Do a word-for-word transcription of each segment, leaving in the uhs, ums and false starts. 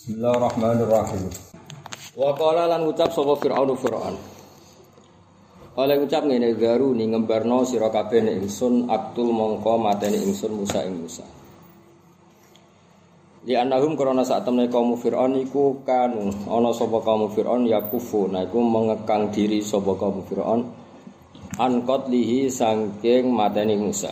Bismillahirrahmanirrahim. Wa qala lan ucap sapa Fir'aun Fir'aun. Oleh ucap ngene garu ni ngembarno sira kabeh nek ingsun aktul mongko mateni ingsun Musa ing Musa. Di annahum krana sak temne kaum Fir'aun iku kanu ana sapa kaum Fir'aun yakufu nah iku mengekang diri sapa kaum Fir'aun an qatlihi saking mateni Musa.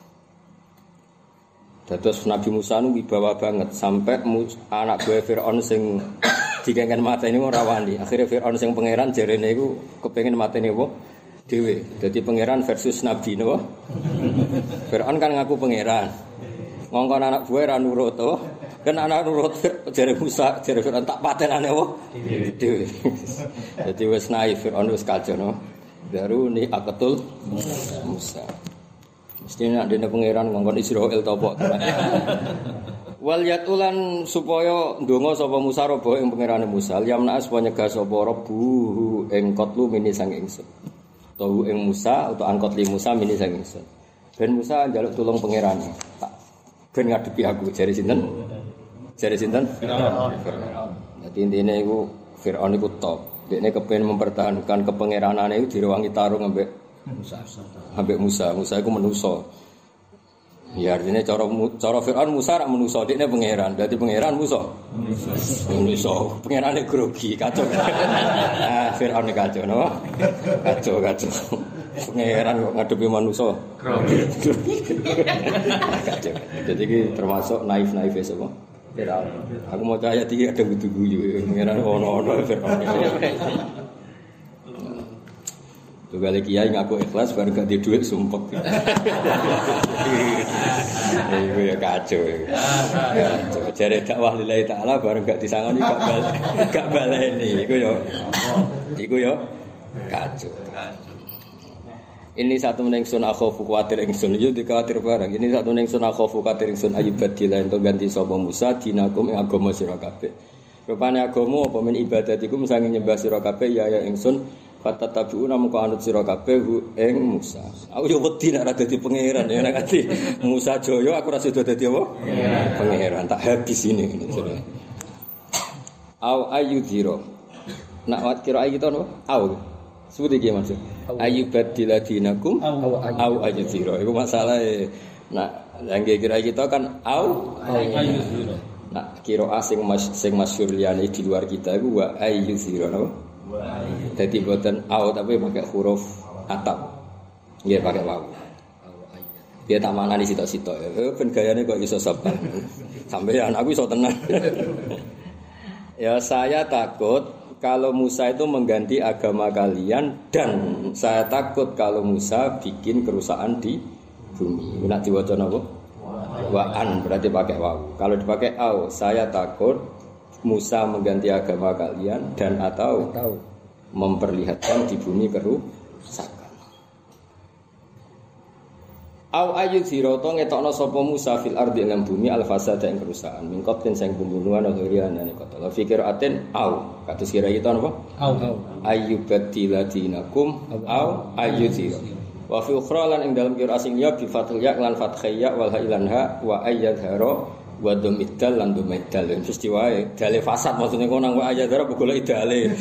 Dados Nabi Musa nu wibawa banget sampai anak buah Fir'aun sing dikengen mateni ora wani. Akhire Fir'aun sing pangeran jarene iku kepengin mateni apa? Dhewe. Dadi pangeran versus nabi napa? Fir'aun kan ngaku pangeran. Ngongkon anak buah ra nurut to. Kan anak nurut jare Musa, jare Fir'aun tak patenane apa? Dhewe. Dadi wis naif Fir'aun wis kacau no. Baru ni akatul Musa. Mesti nak dene pangeran ngongkon Israil to apa. Wal yatulan supaya ndonga sapa Musa robo ing pangerane Musa yamna supaya nyegah sapa rebu ing kotlu mini sang ingsun. Tahu ing Musa utawa angkot li Musa mini sang ingsun. Ben Musa njaluk tulung pangerane. Tak ben ngadepi aku jare sinten? Jare sinten? Firaun. Dadi intine iku Firaun iku top. Dekne kepengin mempertahankan kepangeranane iku direwangi tarung ambek Musa. Ambek Musa, Musa iku manusa. Ya artinya cara cara Firaun Musa rak manusa, dekne pangeran. Dadi pangeran Musa. Manusa. Pangerane grogi, kacau. Ah, Firaun kacau no. Kacau kacau. Pangeran kok ngadepi manusa. Grogi. Kacau. Jadi iki termasuk naif-naif sapa? Firaun. Aku mau ayat iki ada guyu-guyu. Pangeran ono-ono Firaun. Tuh kali kiai ngaku ikhlas baru gak di duit sumpek. Iku ya kacau. Kacau. Jare dakwah lillahi taala baru gak disangoni gak bal gak baleni. Iku yo. Iku yo kacau. Ini satu ningsun akhofu kuwatir ingsun yo dikuwatir barang. Ini satu ningsun akhofu kuwatir ingsun ayubadila ento ganti sapa Musa dinakum ing agama sira kabeh. Rupane agama apa men ibadatikum sange nyembah sira kabeh ya ya ingsun kata tabiuna muka anut sira kabeh ing Musa. Aku yo wedi nek ora dadi pangeran ya nek ati Musa Jaya aku ora sida dadi apa? Pangeran tak habis ini ngene. Au ayyudhira. Nak wat kira iki to no? Au. Sebut iki maksud. Ayyubadila dinakum au ayyudhira. Iku masalahe. Nak langge kira kita kan au ayyudhira. Nak kira asing mas sing masyhur liyane di luar kita iku wa ayyudhira no? Jadi buatan au tapi pakai huruf atap. Nggih pakai waw. Dia tak manani sitok-sitok. Eh ben gayane kok iso sabar. Sampeyan aku iso tenang. Ya saya takut kalau Musa itu mengganti agama kalian dan saya takut kalau Musa bikin kerusakan di bumi. Nek diwaca napa? Wa'an berarti pakai waw. Kalau dipakai au saya takut Musa mengganti agama kalian dan atau memperlihatkan di bumi kerusakan. Au ayu siroto ngetokno sapa Musa fil ardi ing bumi al fasada ing kerusakan. Min qatin sing pembunuhan atau riane kota. La fikir aten au kados kira kita napa? Au ayyubadila dinakum au ayu siro. Wa fi ukhra lan ing dalam kira asing ya bi fathil ya lan fathiyya wal hailan ha wa ayyadharo wa domidal lan domidal wis diwae dale fasad maksudnya kok nang wae aja golek idale.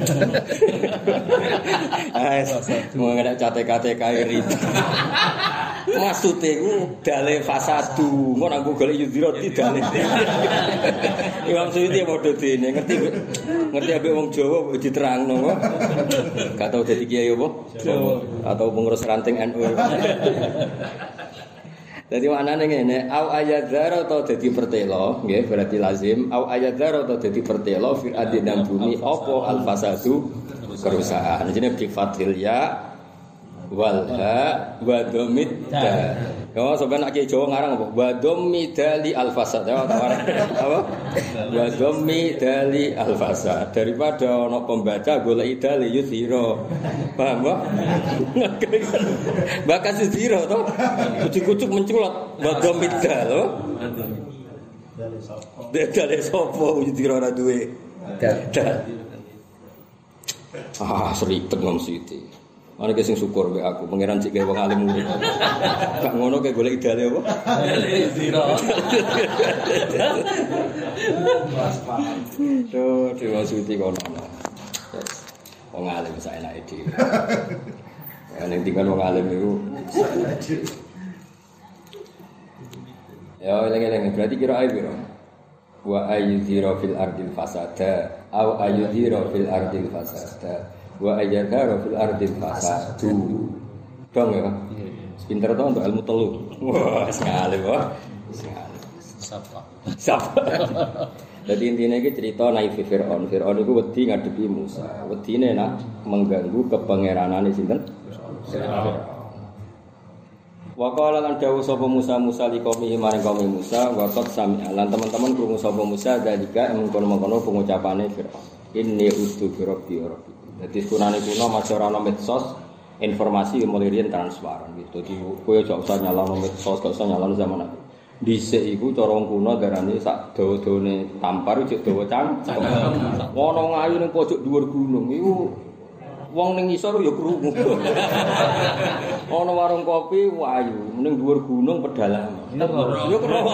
Ah mau ngene cate-cate kae rit. Maksude ku dale fasadu kok nang golek yudhira idale. Imam Suyuti padha dene ngerti ngerti ambek wong Jawa diterangno kok. Gak tau dadi kiai apa? Jawa atau pengurus ranting N U. Jadi maknane ngene, au ayadzara atau dadi pertelo, nggih berarti lazim, au ayadzara atau dadi pertelo fil ardi dan bumi apa al fasadu kerusakan. Jenenge bi fathil ya wal ha wa dhammid da. Yo sampeyan nek Jawa ngarang apa? Wa dhammidali al fasad. Apa? Wa dhammidali al fasad. Daripada ana pembaca golek idale yusira. Paham, Pak? Bakas yusira to. Kucuk-kucuk menculot wa dhammidal lho. Dale sopo yusira ora duwe. Ah, seribet ngom siti. Ana ki sing syukur mbek aku, pangeran cek gawe wong alim murid. Gak ngono kayak golek idale apa? Zero. Tuh, dewa suci kono. Wong alim saenake dhewe. Ya ning tinggal wong alim iku saenake dhewe. Ya eling-eling berarti kira ae piro? Wa ayyuzira fil ardil fasada au ayyuzira fil ardil fasada. Wa ayyadhara fil ardil fasadu. Dong ya. Pinter to untuk ilmu telu. Wah, wis ngalim wae. Wis ngalim. Sapa? Sapa? Jadi intinya iki cerita naik Fir'aun. Fir'aun iku wedi ngadepi Musa. Wedine nak mengganggu kepangeranane sinten? Fir'aun. Wa qala lan dawuh sapa Musa Musa liqaumihi maring kaum Musa wa qad sami'a lan teman-teman krungu sapa Musa dalika mengkono-mengkono pengucapane Fir'aun. Inni ustu bi rabbi rabbi. Jadi sunane kuno masih orang medsos informasi mulai riyen transparan gitu. Jadi kowe aja usah nyalano medsos, gak usah nyalano zaman aku. Dhisik iku cara wong kuno darane sak dawa-dawane tampar cek dawa cang. Ono ngayu ning pojok dhuwur gunung iku wong ning isor ya krungu. Ono warung kopi wayu ning dhuwur gunung pedalaman. Ya krungu.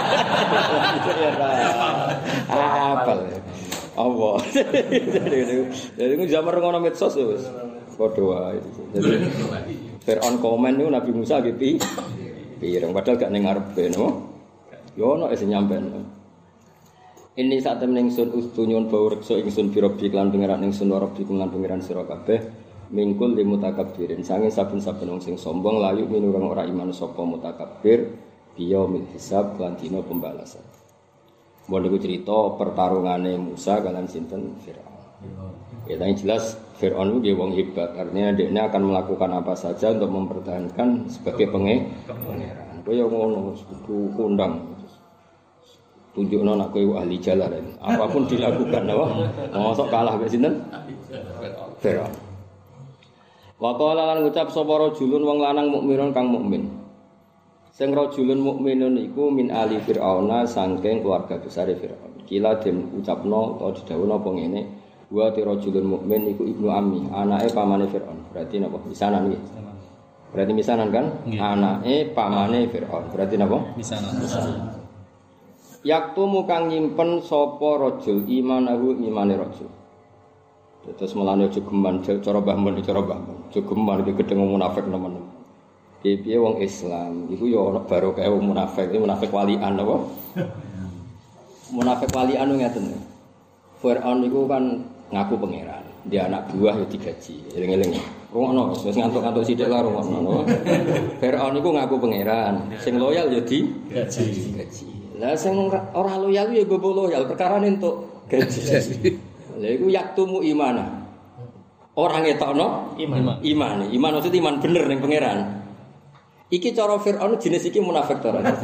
Apal. Allah. Jadi itu zaman ngono medsos ya wis. Padha wae. Jadi Fir'aun komen niku Nabi Musa nggih pi. Pireng padahal gak ning ngarepe no. Yo ono sing nyampen. Ini saat temen ingsun ustunyon bau reksa ingsun birobi lan pangeran ingsun warobi lan pangeran sira kabeh mingkul limutakabbirin sange saben-saben wong sing sombong layu minurang ora iman sapa mutakabbir biya mil hisab lan dina pembalasan. Mau niku cerita pertarungane Musa kalian sinten Fir'aun. Ya yang jelas Fir'aun itu dia wong hebat. Artinya dia akan melakukan apa saja untuk mempertahankan sebagai pangeran. Kaya ngono kudu kondang. Tunjukno nek kowe ahli jalaran. Apapun dilakukan apa? Mosok kalah mek sinten? Fir'aun. Wa qala lan ngucap sapa rajulun wong lanang mukminun kang mukmin. Sing rajulun mukminun iku min ali Fir'auna saking keluarga besar Fir'aun. Kila den ucapno utawa didhawuhna apa ngene, wa rajulun mukmin iku ibnu ammi, anake pamane Fir'aun. Berarti napa? Misanan iki. Berarti misanan kan? Anake pamane Fir'aun. Berarti napa? Misanan. Yaktumu kang nyimpen sapa rajul imanahu imane rajul. Terus melane aja geman cara Mbah Mun cara Mbah Mun. Aja geman iki gedeng munafik nemen. Piye wong Islam iku ya ana barokah wong munafik, iki munafik walian apa? Munafik walian ngeten. Fir'aun iku kan ngaku pangeran, dia anak buah ya digaji. Eling-eling. Rungokno wis ngantuk-ngantuk sithik lah rungokno. Fir'aun iku ngaku pangeran, sing loyal ya digaji. Gaji. Lah sing ora loyal ya gobo loyal, perkarane entuk gaji. Lha iku yaktumu imana. Ora ngetokno iman. Iman, iman maksud iman bener ning pangeran. Iki cara Fir'aun jenis iki munafik to ora? Lah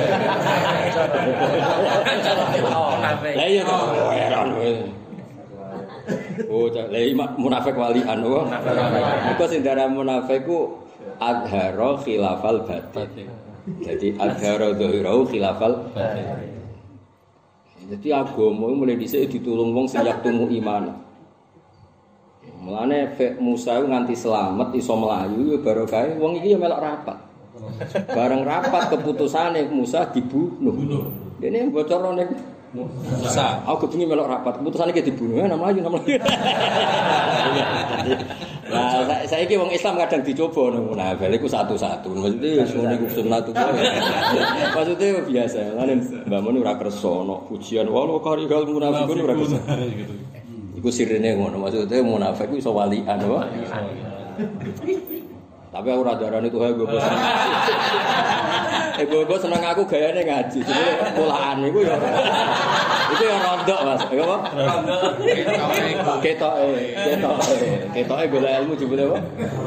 iya to, heran kowe. Oh, lah munafik walian oh. Iku sing darah munafik ku adhara khilafal batin. Jadi adhara dhahirau khilafal batin. Jadi agama mulai dhisik ditulung wong sing yaktumu iman. Mulane Musa nganti selamat iso mlayu ya barokah wong iki ya melok rapat. Bareng rapat keputusane Musa dibunuh. Dene bocorno ning Musa. Aku kepengin melok rapat keputusane ki dibunuh ya mlayu mlayu. Nah, saiki wong Islam kadang dicoba nang munafik iku satu-satu. Maksudnya wis ngene iku sunatullah. Maksudnya biasa. Lan Mbak Mun ora kersa ana pujian wae kari gal munafikun ora kersa. Iku sirine ngono, maksudnya munafik iso walian apa? Tapi aku ora darani tuh gue bosan. Eh gue seneng aku gayane ngaji. Jadi polaan iku ya. Iku ya rondok Mas. Ya apa? Rondok. Ketoke, ketoke. Ketoke golek ilmu jebule apa?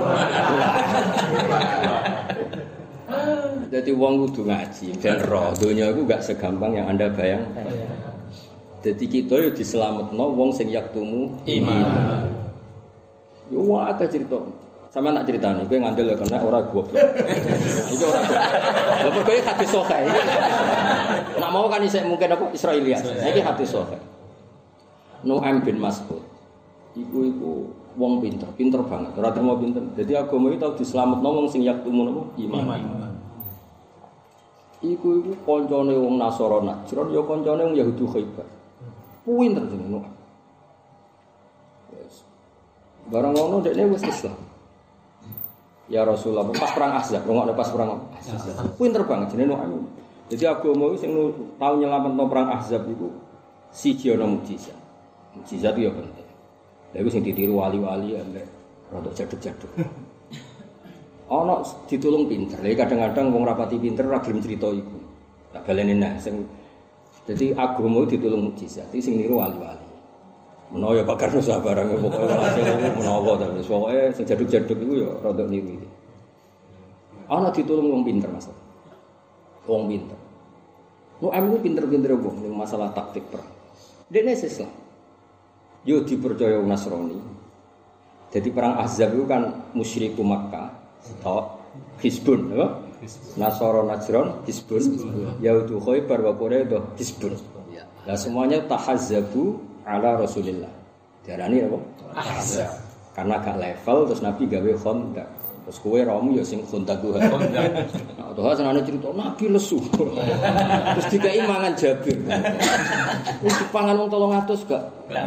Jadi wong kudu ngaji ben roh. Donya iku gak segampang yang Anda bayangkan. Jadi kita yo diselametno wong sing yaktumu iman. Yo wae cerita. Sama tak ceritani, kowe ngandel karena ora goblok. Iki ora goblok. Lha kowe hadis sahih. Nak mau kan isih mungkin apa Israiliyat. Iki hadis sahih. Nu'aim bin Mas'ud. iku iku wong pinter, pinter banget, ora terima pinter. Jadi agama iki tau dislametno wong sing yaktumun apa iman. iman. Iku iku kancane wong Nasara Najran ya kancane wong Yahudi Khaibar. Pinter jenenge. Wes. Barang ngono dekne wis Islam. Ya Rasulullah pas perang Ahzab, ngono pas perang Ahzab. Pinter banget jenenge Nu'aim. Jadi agama sing tau nyelametno perang Ahzab iku siji ana mukjizat. Mukjizat itu ya penting. Lha iku sing ditiru wali-wali ambek rada jaduk-jaduk. Ana ditulung pinter. Lha kadang-kadang wong rapati pinter ora gelem crita iku. Tak baleni nah sing dadi agama ditulung mukjizat. Iki sing niru wali-wali. Menawa ya bakar nusa barang pokoke hasil menawa ta wis pokoke sing jaduk-jaduk iku ya rada niru iki. Ana ditulung wong pinter Mas. Wong pinter. Nu amu pinter-pinter wong ning masalah taktik perang. Dene Islam. Yo dipercaya wong Nasrani. Jadi perang Ahzab itu kan musyriku Makkah, atau Hizbun, apa? Nasara Najran, Hizbun, Yahudi Khaibar wa Quraisy, Hizbun. Lah semuanya tahazzabu ala Rasulillah. Diarani apa? Ahzab. Karena gak level terus Nabi gawe khandaq. Terus kowe ramu ya sing khandaq tuh. Nah, tuh senane cerita Nabi lesu. Terus dikai mangan Jabir. Wis dipangan wong tolong atus gak?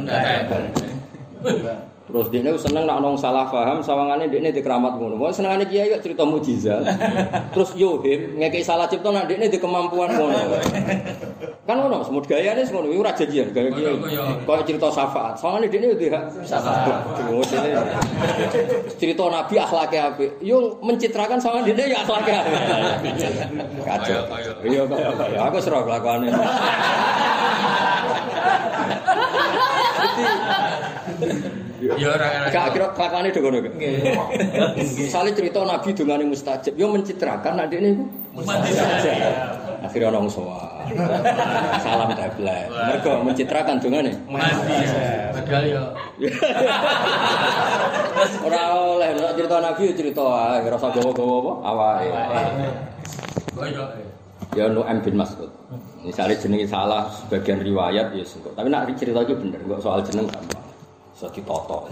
Terus dia ini seneng nak nong salah paham, sawangane dia ini dikeramat ngono. Mau senengane kiai kok cerita mujizat. Terus yohim ngekei salah cipta nak dia ini di kemampuan ngono. Kan ngono, semut gaya ini ngono. Iku ora janjian gaya kiai. Kok cerita syafaat. Sawangane dia ini di syafaat. Cerita Nabi akhlaknya apik. Yo mencitrakan sawangane dia ya akhlaknya apik. Kacau. Iya kaya kaya. Aku serah kelakuane. Ya ora gak kira kelakuane do ngono kok. Nggih. Misale cerita Nabi dongane mustajab, yo mencitrakan nek dekne iku mustajab. Akhire ana wong sowan. Salam dablek. Mergo mencitrakan dongane. Padahal yo ora oleh nek cerita Nabi yo cerita ae, ora usah gawa-gawa apa awake. Ya Nu'aim bin Mas'ud. Misale jenenge salah sebagian riwayat ya sengko. Tapi nek cerita iki bener, kok soal jeneng gampang. So ditoto.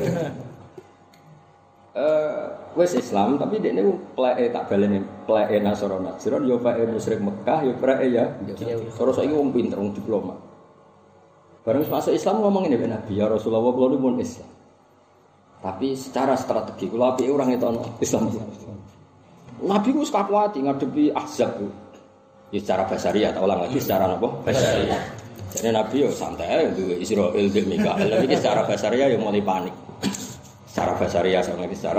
Eh wis Islam tapi dekne pleke tak baleni pleke Nasara Najran yo pleke musyrik Mekah yo pleke ya. Terus saiki wong pinter wong diplomat. Bareng masuk Islam ngomong ngene Nabi ya Rasulullah kula pun Islam. Tapi secara strategi kula apike orang itu Islam. Nabi ku wis kakuati ngadepi Ahzab. Ya secara basariah tak ulang lagi secara apa? Basariah. Jadi Nabi yo santai duwe Israil bil Mikail. Tapi secara basariah yo mulai panik. Secara basariah sama secara.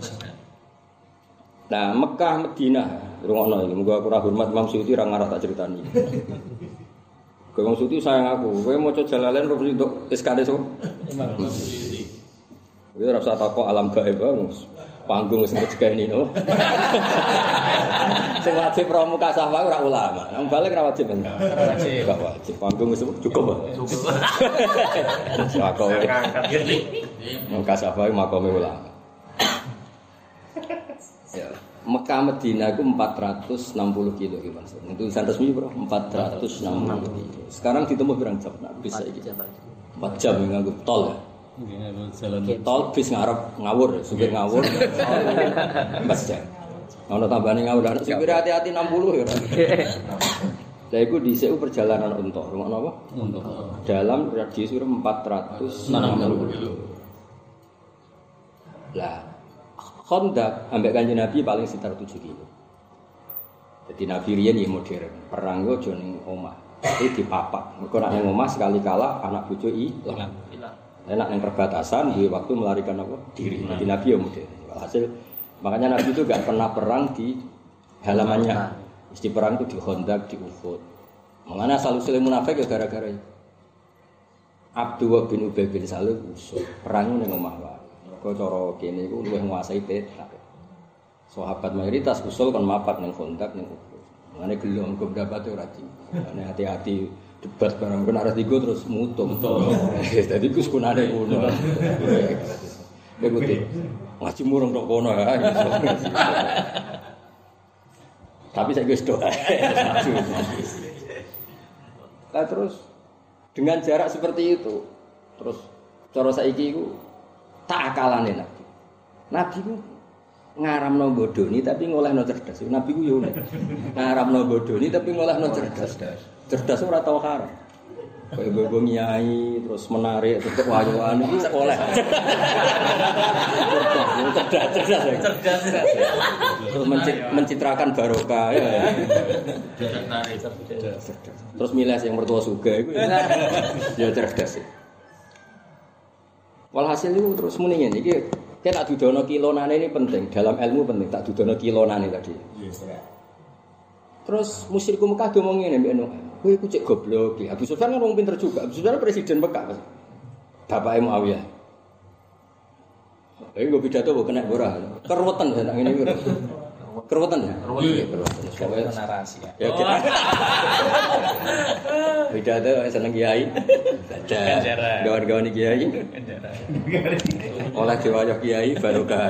Nah, Mekah Madinah, rungokno iki. Muga ora hormat Imam Suyuti ra ngarah tak critani. Kowe Imam Suyuti sayang aku. Kowe maca Jalalain rupi untuk S K D so. Imam Suyuti. Kowe ora usah takok alam gaib panggung wis ngejekeni no. Sing wajib pramuka safah ora ulama. Nang balik ora wajib. Ora wajib. Gak wajib. Panggung wis cukup. Cukup. Makome. Muka safah makome ulama. Ya, Mekah Madinah itu empat ratus enam puluh kilo gitu Mas. Itu tulisan resmi bro, empat ratus enam puluh kilo. Sekarang ditempuh berapa jam? Nah, bisa iki. empat jam nganggo tol ya. Tol bis ngarep ngawur, supir ngawur. empat jam. Ono tambane ngawur, supir hati-hati enam puluh ya. Lah iku dhisik perjalanan unta, rungokno apa? Unta. Dalam radius empat ratus enam puluh kilo. Lah Khandaq ambek Kanjeng Nabi paling sekitar tujuh kilo. Jadi Nabi riyen ya modern, perang go aja ning omah. Iki dipapak. Mergo nek ning omah sekali kalah anak bojo ilang. Enak yang perbatasan di waktu melarikan apa diri. Jadi Nabi ya modern. Hasil makanya Nabi itu gak pernah perang di halamannya. Isti perang itu di Khandaq, di Uhud. Makanya asal usul munafik ya gara-gara itu. Abdullah bin Ubay bin Salul usul perang ning omah wae. Mergo cara kene iku luwih nguasai peta. Sahabat mayoritas usul kon mapat ning Khandaq ning Uhud. Makanya gelem keberapa ora di. Makanya hati-hati debat barang kena arah tiga terus mutung. Jadi ku sekunane ngono. Begitu. Ngaji murung tok kono ya. Tapi saya wis doa. Nah, terus dengan jarak seperti itu terus cara saiki iku tak akalane Nabi. Nabi ku ngaramno bodoni tapi ngolehno cerdas. Nabi ku yo ngaramno bodoni tapi ngolehno cerdas. Cerdas ora tau haram. Kayak gue nyai terus menarik terus wayuan itu oleh cerdas cerdas cerdas terus mencitrakan barokah ya terus milih yang mertua suga itu ya cerdas. Walhasil itu terus muni ngene iki kayak tak dudono kilonane ini penting dalam ilmu penting tak dudono kilonane tadi. Terus musyriku Mekah ngomong ngene mbek Nuh. Kowe iku cek goblok iki. Abu Sufyan kan wong pinter juga. Abu Sufyan presiden Mekah. Bapake Muawiyah. Lha iku pidato kok kena ora. Keruwetan nek ngene iki. Keruwetan ya? Keruwetan. Narasi ya. Ya. Pidato seneng kiai. Baca. Gawan-gawan kiai. Oleh diwayah kiai barokah.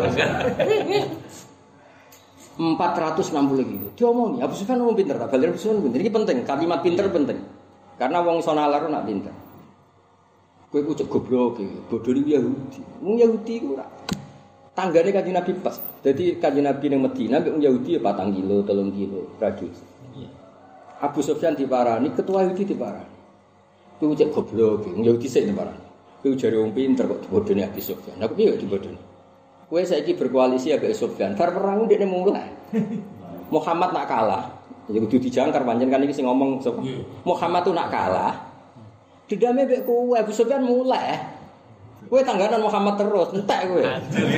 empat ratus enam puluh gitu. Diomongi, Abu Sufyan ngomong pinter, Abu Sufyan pinter. Ini penting, kalimat pinter penting. Karena wong sonalar nak pinter. Kowe ku cek goblok iki, bodho iki Yahudi. Wong Yahudi iku ora. Tanggane Kanjeng Nabi pas. Dadi Kanjeng Nabi ning Madinah mek wong Yahudi ya patang kilo, telung kilo radius. Iya. Abu Sufyan diparani, ketua Yahudi diparani. Kowe cek goblok iki, wong Yahudi sik diparani. Kowe jare wong pinter kok bodhone Abu Sufyan. Aku piye kok dibodhone? Kowe saiki berkoalisi ambek Sufyan. Bar perang ndekne mulai. Muhammad nak kalah. Ya kudu dijangkar pancen kan iki sing ngomong sapa? Muhammad tuh nak kalah. Didame mbek kowe Abu Sufyan mulai. Kowe tangganan Muhammad terus, entek kowe.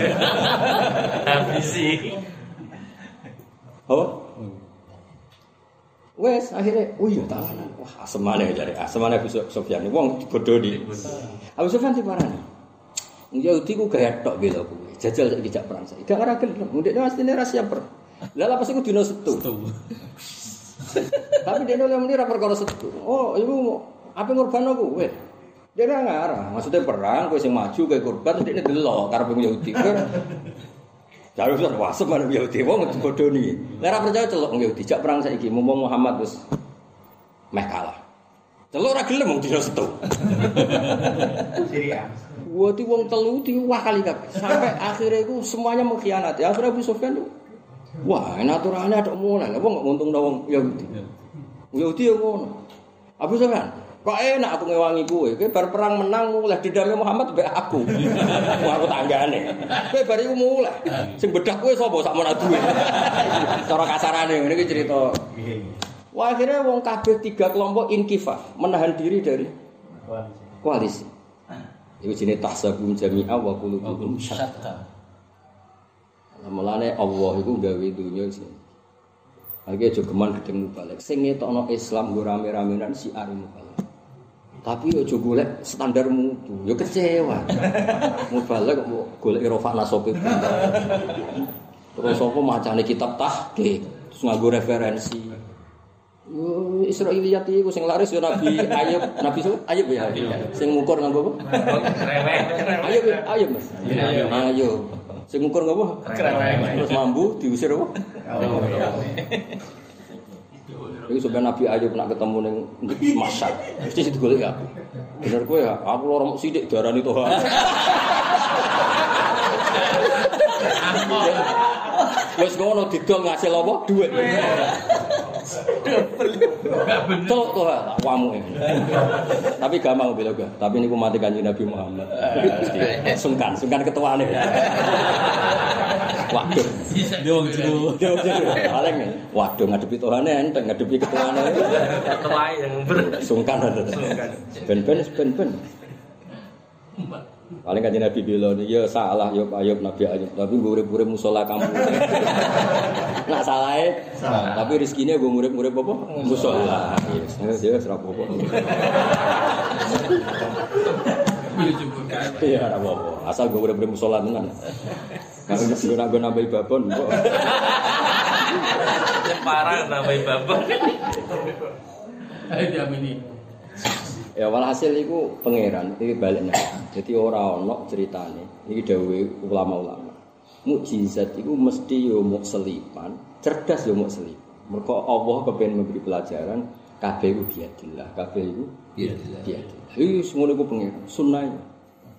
Ambisi. Oh. Wes akhirnya, oh iya tanganan. Wah, asemane jare. Asemane Abu Sufyan wong bodoni. Abu Sufyan diparani. Yahudi ku gaya tok bela kowe. Jajal saiki jak perang saiki. Gak ora gelem. Ndekne mestine ra siap per. Lah apa sih ku dina Setu. Tapi dene oleh muni ra perkara Setu. Oh, iku ape ngorbano kowe. Dene ngarah. Maksudnya perang kowe sing maju kowe korban ndekne delok karepe Yahudi. Jare wis wasem marang Yahudi wong bodoni. Lah ra percaya celok Yahudi jak perang saiki mumpung Muhammad wis meh kalah. Celok ora gelem wong dina Setu. Syria. Wati wong telu diwah kali kabeh. Sampai akhirnya itu semuanya mengkhianati. Akhirnya Abu Sufyan tuh wah, naturalnya ada mulai. Apa enggak untung dong Yahudi. Yahudi yo ngono. Abu Sufyan, kok enak aku ngewangi kowe. Kowe bar perang menang mulai didame Muhammad mbek aku. Wah, aku tanggane. Kowe bar iku mulai. Sing bedak kowe sapa sak menawa duwe. Cara kasarane ngene iki cerita. Wah, akhirnya wong kabeh tiga kelompok inkifaf, menahan diri dari koalisi. Iku jenenge tahsabum jami'a wa qulubuhum syatta. Mulane Allah iku gawe dunya sing. Iki aja geman gedeng mubalek. Sing ngetokno Islam go rame-ramenan si are mubalek. Tapi aja golek standar mutu, ya kecewa. Mubalek kok golek rofa nasope. Terus apa macane kitab tahqiq, terus nganggo referensi. Yo Israiliyat iku sing laris yo Nabi Ayub, Nabi Su Ayub ya. Sing ngukur nganggo apa? Kreweng. Ayub, Ayub Mas. Ayub. Sing ngukur ngapa? Kreweng. Terus mambu diusir apa? Iku sampeyan Nabi Ayub nak ketemu ning Masyad, mesti digoleki aku. Bener kowe ya, aku loro sithik diarani Tuhan. Wes ngono didol ngasil apa? Duit. Betul tuh, wamu ini. Tapi gampang bela gue. Tapi ini ku mati kanjeng Nabi Muhammad. Sungkan, sungkan ketuane. Waduh. Dong jero. Dong jero. Paling waduh ngadepi Tuhane enteng ngadepi ketuane. Ketuae yang ber. Sungkan. Sungkan. Ben-ben ben-ben. Paling kanjeng Nabi bilang, ya salah ya Ayub Nabi Ayub, tapi gue urip-urip musola kampung. Nak salahnya, salah. Tapi rezekinya gue urip-urip apa? Musola. Yes, ya serap apa? Iya, apa apa. Asal gue urip-urip musola tenan. Kalau gue nak gue nambahi babon, kok. Parah nambahi babon. Ayo diamini. Ya walhasil iku pangeran iki baliknya. Jadi ora ana ceritane. Iki dawuhe ulama-ulama. Mukjizat iku mesti yo muk selipan, cerdas yo muk selipan. Mergo Allah kepengin memberi pelajaran kabeh iku biadillah, kabeh iku biadillah. Iki semono iku pangeran, sunnah.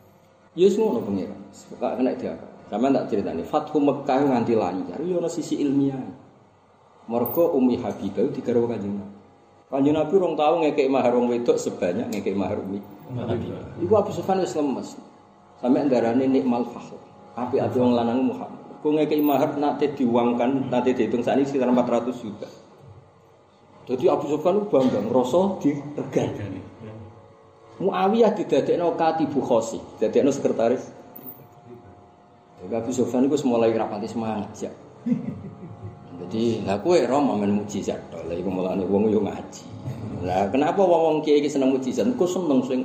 Ya wis ngono pengiran. Kok kena dia. Sampeyan tak critani Fathu Mekkah nganti lancar. Ya ana sisi ilmiah. Mergo Ummi Habibah digarwa Kanjeng Nabi. Kanjeng Nabi rong tau ngekeki mahar wong wedok sebanyak ngekeki mahar Ummi Habibah. Iku Abu Sufyan wis lemes. Sampai ndarane nikmal fakhr. Api-api wong lanang Muhammad. Kok ngekeki mahar nate diuangkan, nate dihitung sakniki sekitar empat ratus juta. Jadi Abu Sufyan bangga ngrasa diregani. Muawiyah didadekno Katibu Khosi, didadekno sekretaris. Abu Sufyan iku mulai rapati semangat ya. Jadi, lah kowe ora men mujizat to. Lah iku mulane wong yo ngaji. Lah kenapa wong-wong kiai iki seneng mujizat? Kok seneng sing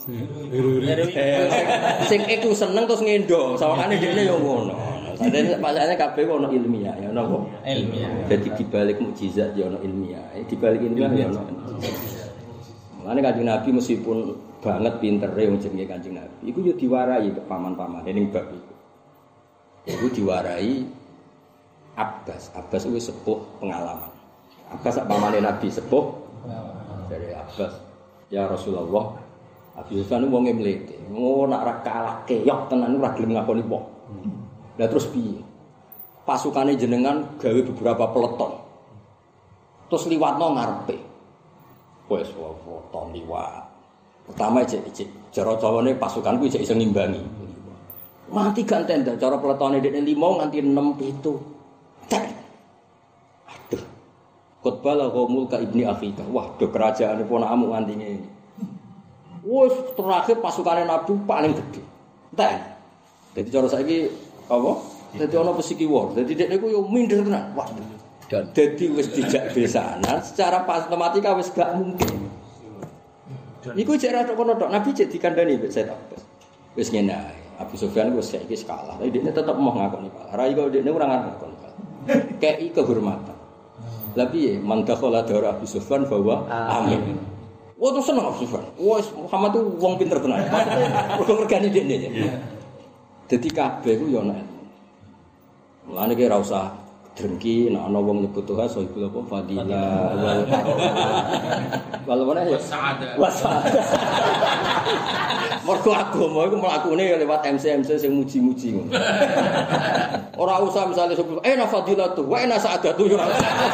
sing iku seneng terus ngendo. Sawangane dhekne yo ngono. Sadene pasane kabeh ono ilmiah ya ono apa? Ilmiah. Jadi dibalik mujizat ya ono ilmiah. Dibalik ilmiah ya ono. Mulane Kanjeng Nabi meskipun banget pintere wong jenenge Kanjeng Nabi, iku yo diwarai ke paman-pamane ning bab iku. Iku diwarai Abbas. Abbas itu sepuh pengalaman. Abbas sak pamane Nabi sepuh. Dari Abbas, ya Rasulullah, Abu Sufyan wong e mlete. Ngono nak ra kalah keyok tenan ora gelem ngakoni wong. Lah terus piye? Pasukane jenengan gawe beberapa peleton. Terus liwatno ngarepe. Wes foto liwat. Pertama ijek-ijek cara Jawane pasukanku ijek iso ngimbangi. Mati gak tenda cara peletone dekne lima nganti enam pitu. Tek. Aduh. Qutbala qaumul ka ibni Afrika. Wah, do kerajaane ponakmu nganti ngene. Wes terakhir pasukane Nabi paling gede. Tek. Dadi cara saiki apa? Dadi ana pesiki war. Dadi dekne ku yo minder tenan. Wah. Dadi wis dijak besanan secara matematika wis gak mungkin. Iku jek ra tok kono tok Nabi jek dikandani mbek Said Abbas. Wis ngene ae. Abu Sufyan wis saiki kalah. Tapi dekne tetep mau ngakoni kalah. Ra iku dekne ora ngakoni kalah. Kei kehormatan. Lah piye man dakhala dara Abu Sufyan bahwa amin. Wah terus seneng Abu Sufyan. Wes Muhammad tuh wong pinter tenan. Mergo regane dekne. Dadi kabeh ku yo ana. Mulane ki ora usah drengki nek ana wong nyebut Tuhan sohibul apa fadilah wal wal mana ya wasada. Mergo agama iku mlakune lewat M C M C sing muji-muji ngono. Ora usah misale sebut eh na fadilatu wa ina sa'adatu yo.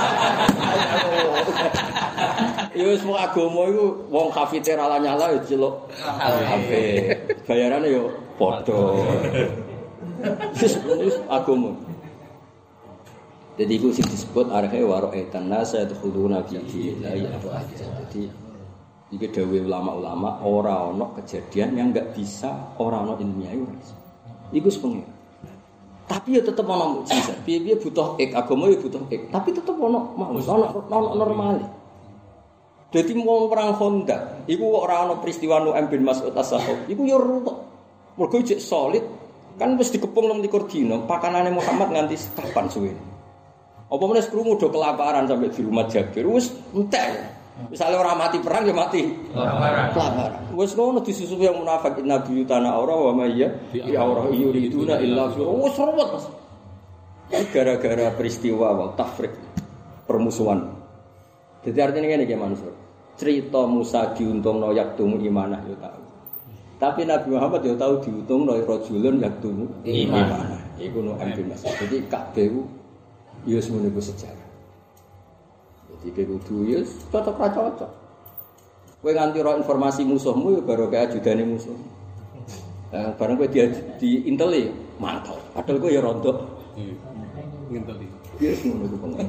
Ya wis mung agama iku wong kafite ra nyala yo celuk ape. Bayarane yo padha. Wis agama. Jadi itu sih disebut arhe waro'etan nasa yadkhuluna fi dinillahi afwaja. Jadi iki dawuh ulama-ulama ora ana kejadian yang enggak bisa ora ana ilmiah iku. Iku sepengen. Tapi ya tetep ana mukjizat. Piye-piye butuh ik agama ya butuh ik, tapi tetep ana mau ana ana normal. Dadi wong perang Khandaq iku ora ana peristiwa Nu'aim bin Mas'ud as-Sahab. Iku ya ruwet. Mergo jek solid kan wis dikepung nang likur dina, pakanane Muhammad nganti kapan suwe. Apa meneh krungu do kelaparan sampai di rumah Jabir wis entek. Misale ora mati perang ya mati kelaparan. Kelaparan. Wis ngono disusupi yang munafik nabi tanah aura wa mayya ya aura yuriduna illa fira. Wis ruwet. Gara-gara peristiwa wal tafrik permusuhan. Jadi artinya ngene iki Mansur. Cerita Musa diuntungno yaktumu imanah yo tahu. Tapi Nabi Muhammad yo tahu diuntungno rajulun yaktumu imanah. Iku no ambil maksud. Jadi kabeh ya semuanya itu sejarah. Jadi kudu ya cocok ra cocok. Kowe nganti ro informasi musuhmu ya baru kayak ajudane musuh. Nah, bareng kowe di di inteli mantap. Padahal kowe ya rontok. Nginteli. Ya semuanya itu pengen.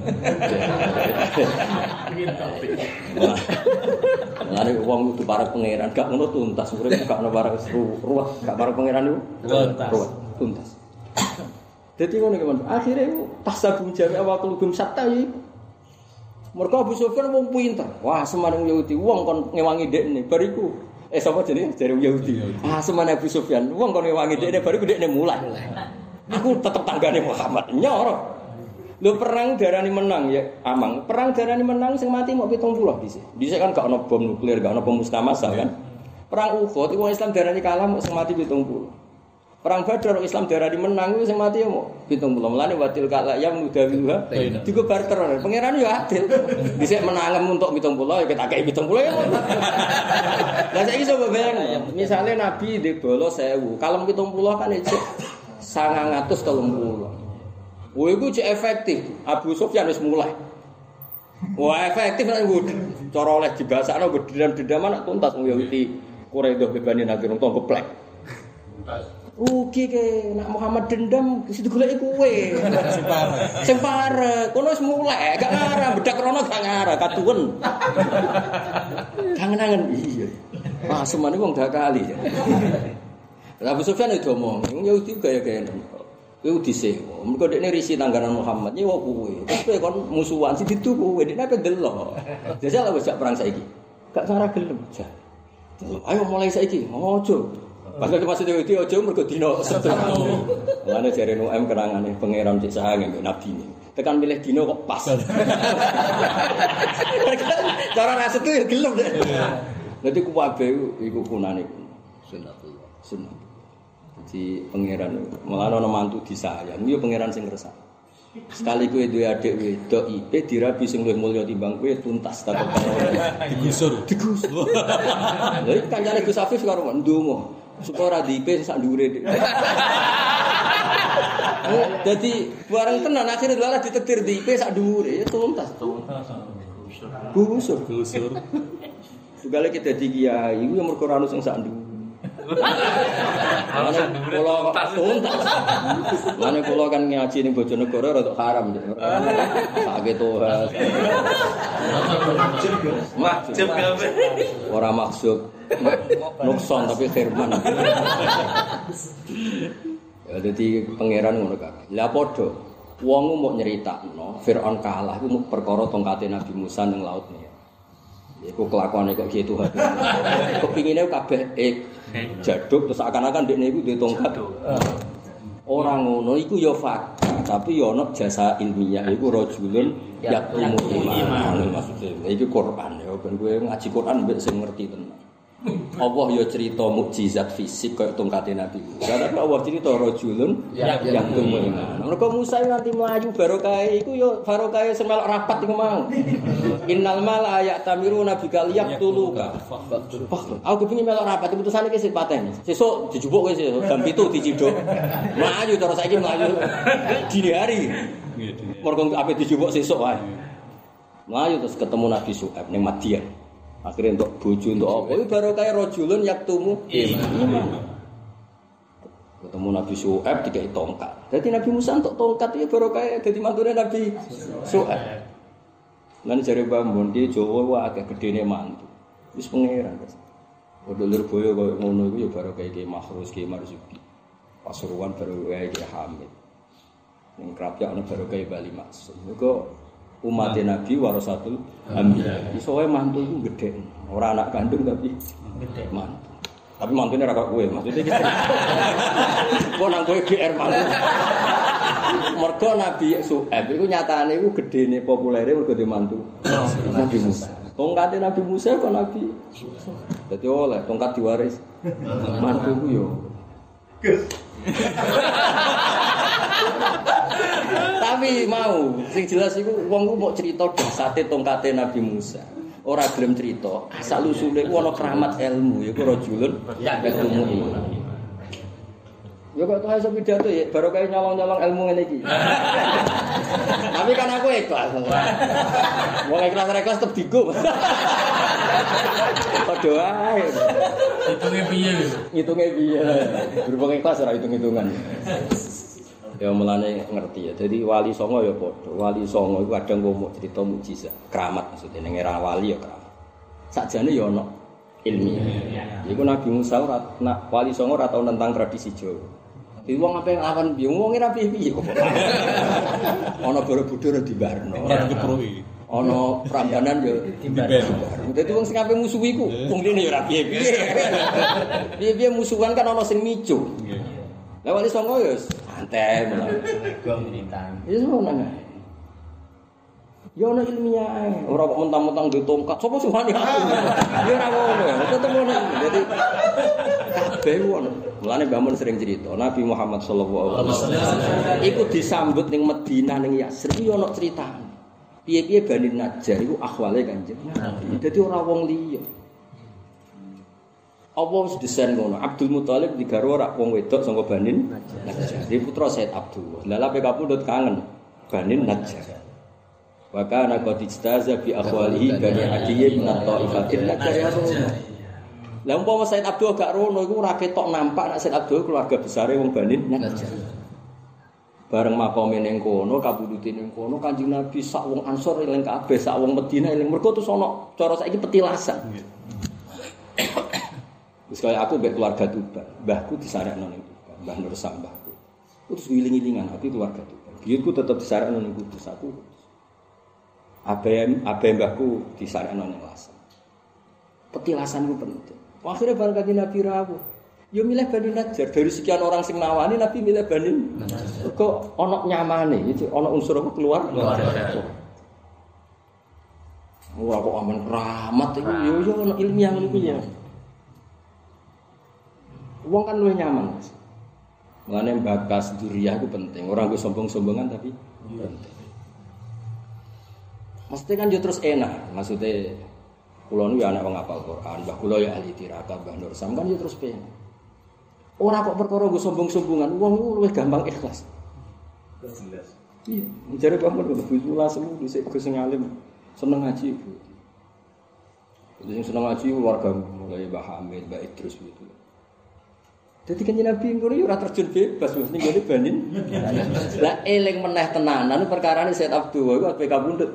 Nginteli. Lah nek wong kudu para pangeran gak ngono tuntas urip gak ono para ruwet gak para pangeran iku tuntas. Tuntas. Jadi ngono ki Mas. Akhire tasabung jami awal kulubum satta iki. Mergo Abu Sufyan wong pinter. Wah, semane Yahudi wong kon ngewangi dekne. Bariku eh sapa jenenge? Jare Yahudi. Ah, semane Abu Sufyan wong kon ngewangi dekne bariku dekne mulai. Aku tetep tanggane Muhammad. Nyoro. Lho perang darani menang ya amang. Perang darani menang sing mati mok pitung puluh dhisik. Dhisik kan gak ono bom nuklir, gak ono pemusnah massal kan. Perang Uhud iku Islam darani kalah mok sing mati pitung puluh. Perang Badar Islam darani menang kuwi sing mati ya mau pitung puluh. Mulane watil kala ya mudawiha digo barter. Pangeran yo adil. Dhisik menangem untuk pitung puluh ya kita kei pitung puluh ya. Lah saiki coba bayang, misale Nabi ndek bala seribu, kalem pitung puluh kan isih sangang atus telung puluh. Wah iku cek efektif. Abu Sufyan wis mulai. Wah efektif nek cara oleh dibasakno gedendam-dendaman nak tuntas wong Yahudi Quraidah bebani nang tong geplek. Rugi ke nak Muhammad dendam situ goleki kowe. Sing parek. Sing parek. Kono wis mulai gak ngarah bedak rono gak ngarah katuwen. Kangen-kangen iya. Wah semane wong dak kali. Abu Sufyan itu omong, wong Yahudi gaya-gaya. Kowe disewa. Mergo dekne risi tangganan Muhammad nyewa kowe. Terus kowe kon musuhan sing ditu kowe dekne ape delok. Jajal wis gak perang saiki. Gak ngarah gelem. Ayo mulai saiki. Ojo. Padahal maksudnya itu aja mergo dino setu. Lane jare Nu M kenangane pangeran cek sahange mbek nabi ini. Tekan milih dino kok pas. Cara ra setu ya gelem. Dadi kuwabe iku kunane sunnatullah. Sunnah. Jadi pangeran malah ana mantu disayang, yo pangeran sing ngresak. Sekali kowe duwe adik wedok ipe dirabi sing luwih mulya timbang kowe tuntas takut digusur. Digusur. Lha iki kancane Gus Afif karo ndonga. Supaya ora diipe sak dhuwure. Dadi bareng tenan akhire malah ditetir diipe sak dhuwure ya tuntas. Gusur, gusur. Segala kita dadi kiai iku ya mergo ora ono sing sak dhuwure. Mane kula tuntas. Mane kula kan ngaji ning Bojonegoro rada haram. Sakit toha. Maksud kabeh. Ora maksud nukson tapi firman. Ya dadi pangeran ngono kabeh. Lah padha wong mau nyeritakno Firaun kalah iku perkara tongkate Nabi Musa ning laut nih. Iku kelakuane kok gitu hati. Kepingine kabeh ek jaduk terus akan-akan dekne iku duwe tongkat. Ora ngono iku ya fakta, tapi ya ana jasa ilmiah iku rajulun yaqtumu iman. Maksudnya iki Quran ya ben kowe ngaji Quran mbek sing ngerti tenan. Allah ya cerita mukjizat fisik kaya tongkate Nabi. Karena Allah cerita rajulun yaqtumu iman. Mergo Musa nganti mlayu barokah iku ya barokah semelok rapat iku mau. Innal mala ya'tamiruna bika liyaqtuluka. Aku kepengin melok rapat putusane iki sik paten. Sesuk dijupuk kowe sesuk jam pitu diciduk. Mlayu terus saiki mlayu dini hari. Mergo ape dijupuk sesuk wae. Mlayu terus ketemu Nabi Syuaib ning Madian. Akhirnya untuk bojo untuk apa? Itu baru kayak rojulun yaktumu iman. Ketemu Nabi Syuaib dikai tongkat. Jadi Nabi Musa untuk tongkat itu baru kayak jadi mantunya Nabi Syuaib. Nanti cari bambun di Jawa wah agak gedene mantu. Terus pangeran. Udah lirboyo kau ngono itu ya baru kayak kayak Makhrus kayak Marzuki. Pasuruan baru kayak kayak Hamid. Yang kerapnya ono baru kayak Bali Maksum. Kok umat Nabi warasatul anbiya. Isoe mantu iku gedhe. Ora anak kandung tapi gedhe mantu. Tapi mantune ora kok kowe. Maksudnya iki. Kok nang kowe G R mantu. Mergo Nabi Syuaib iku nyatane iku gedene populere mergo di mantu Nabi Musa. Tongkate Nabi Musa kok Nabi. Dadi oleh tongkat diwaris. Mantu ku yo. Tapi mau sing jelas iku wong ku mau cerita dasate tongkate Nabi Musa. Ora gelem cerita, asal usule ku ana keramat ilmu yaiku rajulun yaqtumu iman. Ya kok iso pidato ya baru kaya nyolong-nyolong ilmu ngene iki. Tapi kan aku ikhlas. Wong ikhlas-ikhlas tetep digo. Padha wae. Hitunge piye? Hitunge piye? Berhubung ikhlas ora hitung-hitungan. Ya mulane ngerti ya. Jadi wali songo ya padha. Wali songo iku kadang ngomong cerita mukjizat, keramat maksudnya ning era wali ya keramat. Sakjane ya ana ilmiah. Iku Nabi Musa ora nak wali songo ora tau tentang tradisi Jawa. Di wong ape nglawan piye? Wong ora piye-piye kok. Ana Borobudur dibarno. Ora dipruki. Ana Prambanan yo dibarno. Dadi wong sing ape musuhi iku wong rene yo ora piye-piye. Piye-piye musuhan kan ana sing micu. Nggih. Lah wali songo yo santai malah. Gong rintang. Wis ngono ae. Yo ana ilmiah ae. Ora kok mentang-mentang duwe tongkat. Sopo sing wani aku? Yo ora ngono. Tetep ngono. Dadi kabeh wong. Mulane Mbah Mun sering cerita, Nabi Muhammad sallallahu alaihi wasallam iku disambut ning Madinah ning Yatsrib yo ana critane. Piye-piye Bani Najjar iku akhwale Kanjeng Nabi. Dadi ora wong liya. Apa wis desain ngono? Abdul Muthalib digarwa ora wong wedok saka Bani Najjar. Dia putra Said Abdul. Lah lape kapundhut kangen Bani Najjar. Wa kana qad istaza bi akhwalihi Bani Adiyyin min at-ta'ifatin Najjar ya Rasulullah. Lah umpama Said Abdul gak rono iku ora ketok nampak nek Said Abdul keluarga besare wong Bani Najjar. Bareng makome ning kono, kabudute ning kono Kanjeng Nabi sak wong Ansor eling kabeh, sak wong Madinah eling. Mergo terus ana cara saiki petilasan. Wis kaya aku mbek keluarga Tuban, mbahku disarekno ning Tuban, Mbah Nur Sambahku. Terus wiling-wilingan aku keluarga Tuban. Biyenku tetep disarekno ning Kudus aku. Abe abe mbahku disarekno ning Lasem. Petilasan ku penting. Akhirnya bareng Kanjeng Nabi rawuh. Yo milih Bani Najjar dari sekian orang sing nawani Nabi milih Bani Najjar. Kok ana nyamane, itu ana unsur apa keluar? Keluar. Wah kok aman keramat iku yo yo ana ilmiah ngono kuwi ya. Wong kan luwih nyaman. Mulane bakas duriyah itu penting. Orang ku sombong-sombongan tapi penting. Mesti kan yo terus enak, maksudnya kula nu ya anak wong hafal Quran, mbah kula ya ahli tirakat, Mbah Nur Sam kan yo terus pengen. Ora kok perkara nggo sombong-sombongan, wong ku luwih gampang ikhlas. Jelas. Iya, jare pamun kok bismillah semu dhisik Gus sing alim, seneng ngaji. Jadi seneng ngaji warga mulai Mbah Hamid, Mbah Idrus gitu. Dadi Kanjeng Nabi ngono yo ora terjun bebas mesti ngene banin. Lah eling meneh tenanan perkarane Said Abdul iku ape kabundut.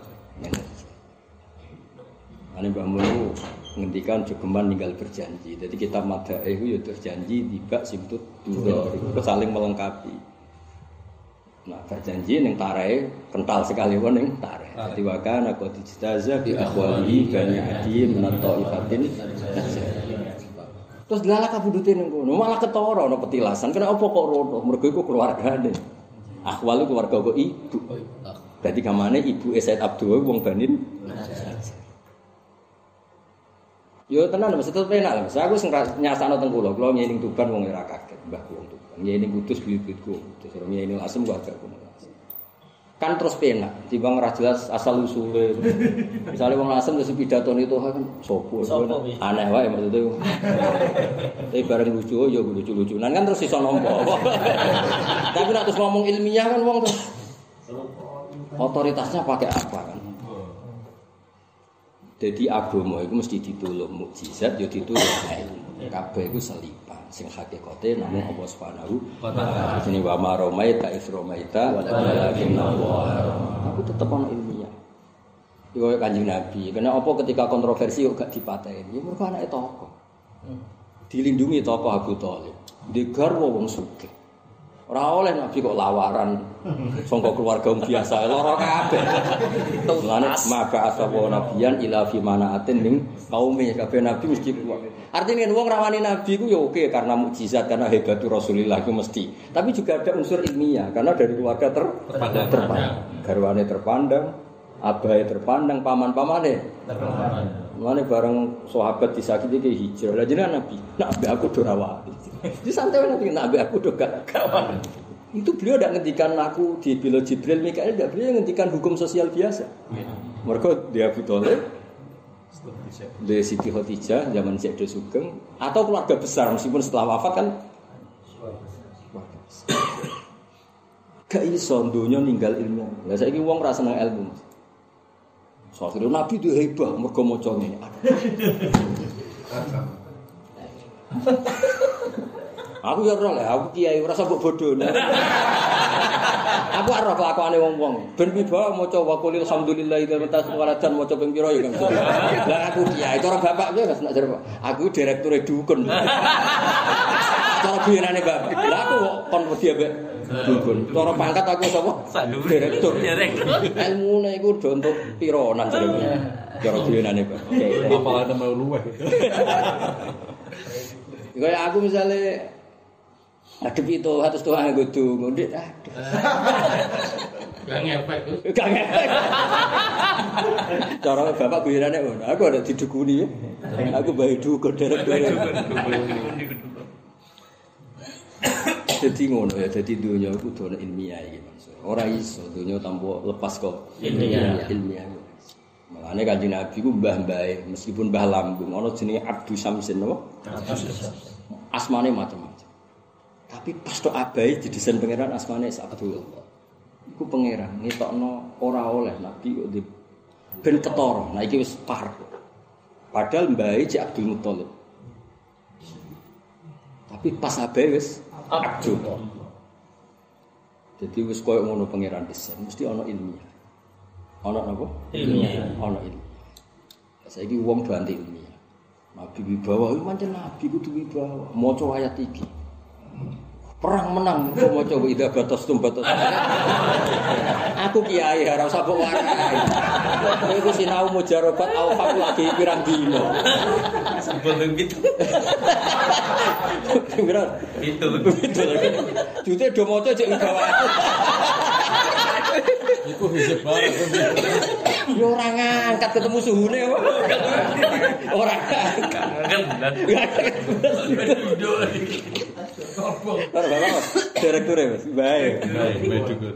Ane Mbah Mun ngendikan jogeman ninggal berjanji. Jadi kita madahe iku ya berjanji tiba simtut dua iku saling melengkapi. Nah, berjanji ning tarahe kental sekali wong ning tarahe. Dadi wakana qad istaza bi akhwalihi Bani Adiyyin min at-ta'ifatin. Terus lala kabudute ning kono, malah ketara ana petilasan. Kenapa kok rono? Mergo iku keluargane. Akhwal keluarga kok ibu. Dadi gamane ibu Said Abdul wong Bani Najjar. Yo tenan Mas, tetep enak Mas. Aku sing nyasano teng kula, kula nyening Tuban wong ora kaget, mbahku wong Tuban. Nyening Kudus bibitku, terus nyening Lasem kok agak kono. Kan terus penak, timbang ora jelas asal usule. Misale wong Lasem terus pidatone itu kan sopo, aneh wae maksudnya. Tapi bareng lucu yo lucu-lucunan kan terus iso nampa. Tapi nek terus ngomong ilmiah kan wong terus otoritasnya pakai apa kan? Jadi agama itu mesti ditulung mukjizat, ya ditulung ilmu. Kabeh iku selipan, sing hakikate namung Allah Subhanahu wa taala. Jenenge wa ma romaita is romaita walakin Allah. Aku tetep ana ilmiah. Iku kaya Kanjeng Nabi. Karena apa ketika kontroversi kok gak dipateni? Ya mergo anake tokoh. Dilindungi tokoh Abu Thalib. Degar wong sugih. Ora oleh Nabi kok lawaran sangka keluarga biasa lara kabeh. Mulane maka asaba nabiyan ila fi manaatin ning kaume kabeh nabi mesti kuat. Artinya wong rawani nabi ku ya oke karena mukjizat karena hebatul Rasulillah itu mesti. Tapi juga ada unsur ilmiah karena dari keluarga ter terpandang. terpandang. Garwane terpandang, abahe terpandang, paman-pamane terpandang. Mulane bareng sahabat disakiti ke hijrah. Lah jenengan nabi, nak ambek aku do rawani. Di santai nanti nak ambek aku do gak kawan. Itu beliau tidak ngendikan aku di bila Jibril Mikail, tidak beliau ngendikan hukum sosial biasa. Mereka dia Abu Thalib, di Siti Khadijah zaman Syekh Sugeng atau keluarga besar meskipun setelah wafat kan gak iso dunya ninggal ilmu. Lah saiki wong ora seneng ilmu. Soale Nabi itu hebat mergo maca ngene. Aku ya ora lah, aku kiai ora sabuk bodho. Aku ora kelakuane wong-wong. Ben piba maca wa qul alhamdulillahi wa tasawwarajan maca ping pira ya kan. Lah aku kiai, cara bapak ki Mas nak jare aku direkture dukun. Cara biyenane bapak. Lah aku kok kon wedi ambek dukun. Cara pangkat aku sapa? Direktur. Ilmune iku do entuk pironan jare. Cara biyenane bapak. Apalane mau luweh. Kaya aku misalnya adep itu atus Tuhan nggo donga ndik aduh. Gak ngepek. Gak ngepek. Cara bapak guyonane ngono. Aku ada didukuni ya. Aku bae dukun derek-derek. Jadi ngono ya, jadi dunia itu dunia ilmiah iki maksud. Ora iso dunia tanpa lepas kok ilmiah. Ilmiah. Makane Kanjeng Nabi ku mbah-mbahe meskipun mbah lambung ana jenenge Abdus Samsin napa? Abdus Samsin. Asmane macam-macam. Tapi pas tok abahe didesain pangeran asmane Abdul. Iku pangeran ngetokno ora oleh Nabi kok di ben ketara. Nah iki wis par. Padahal mbahe Cik Abdul Muthalib. Tapi pas abahe wis Abdul. Jadi wis koyo ngono pangeran desain mesti ana ilmiah. Ana napa? Ilmiah. Ana ilmiah. Saiki wong do anti ilmiah. Nabi wibawa, iki pancen nabi kudu wibawa. Maca ayat iki. Perang menang, kok maca wa idza batastum batas. Aku kiai ora usah mbok warai. Iku sinau mujarobat awfaq lagi pirang dino. Sebelum gitu. Pirang? Itu. Itu lagi. Jute do maca cek wibawa. Iku hijab barang. Yo ora ngangkat ketemu suhune kok. Ora ngangkat. Ora bapak. Direktur ya, Mas. Baik. Baik juga.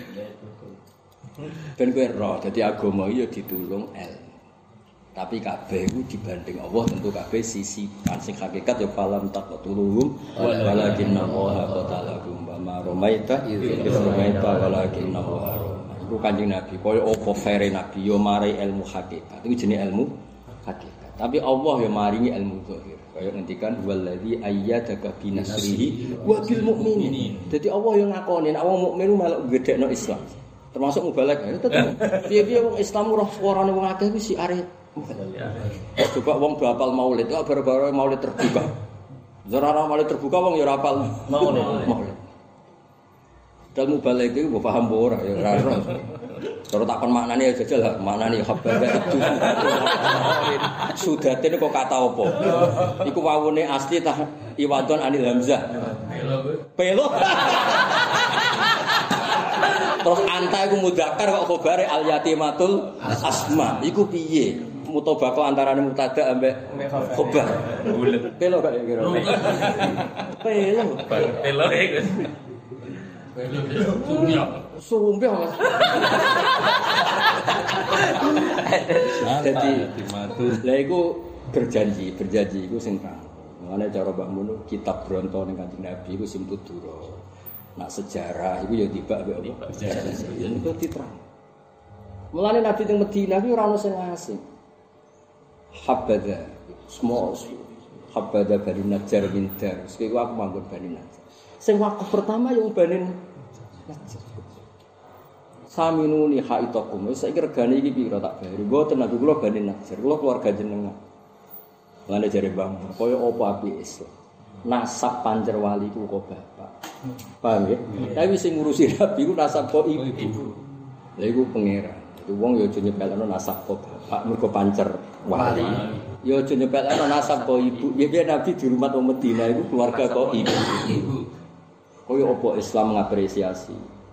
Ben kowe roh, dadi agama ya ditulung ilmu. Tapi kabeh iku dibanding Allah tentu kabeh sisi sing hakikat ya falam taqtuluhum walakinna Allah qatalahum wa ma ramaita idz ramaita walakinna Allah. Iku Kanjeng Nabi koyo apa fere Nabi yo marai ilmu hakikat. Iku jenenge ilmu hakikat. Tapi Allah yo maringi ilmu zahir. Kaya ngendikan wallazi ayyadaka binasrihi wa bil mukminin. Dadi Allah yo ngakoni nek wong mukmin melok gedhekno Islam. Termasuk mubalek ya tetep. Piye-piye wong Islam ora suarane wong akeh kuwi si arep. Coba wong do hafal maulid, kok baru-baru maulid terbuka. Zara maulid terbuka wong ya ora hafal maulid. Maulid. Dalem mubalek iki mbok paham ora ya ora ora. Cara takon maknane ya jajal maknane hababa itu. Sudatin kok kata apa? Iku wawune asli tah iwadon anil hamzah. Pelo. Terus anta iku mudzakkar kok khobare al yatimatul asma. Iku piye? Mutabaqah antarane mubtada ambek khobar. Bulet. Pelo gak kira. Pelo. Pelo iku. Pelo. Sumpah Mas. Jadi lha iku berjanji, berjanji iku sing kang. Mane cara Mbak Mun kitab Bronto ning Kanjeng Nabi iku sing tudura. Nak sejarah iku ya tiba ambek apa? Sejarah. Iku diterang. Mulane Nabi teng Madinah iku ora ono sing asing. Habada semua habada Bani Najjar bin Dar. Sekali aku manggon Bani Najjar. Sing waktu pertama yang Bani Najjar. Saminuni haitakum. Wis saiki regane iki pira tak bayar. Mboten aku kula Bani Najjar. Kula keluarga jenengan. Mulane jare Bang, kaya apa api Islam. Nasab panjer wali ku kok bapak. Paham ya? Tapi sing ngurusi Nabi ku nasab kok ibu. Lha iku pangeran. Itu wong ya aja nyepelno nasab kok bapak mergo pancer wali. Ya aja nyepelno nasab kok ibu. Ya Nabi di rumah wong Madinah iku keluarga kok ibu. Kaya apa Islam ngapresiasi.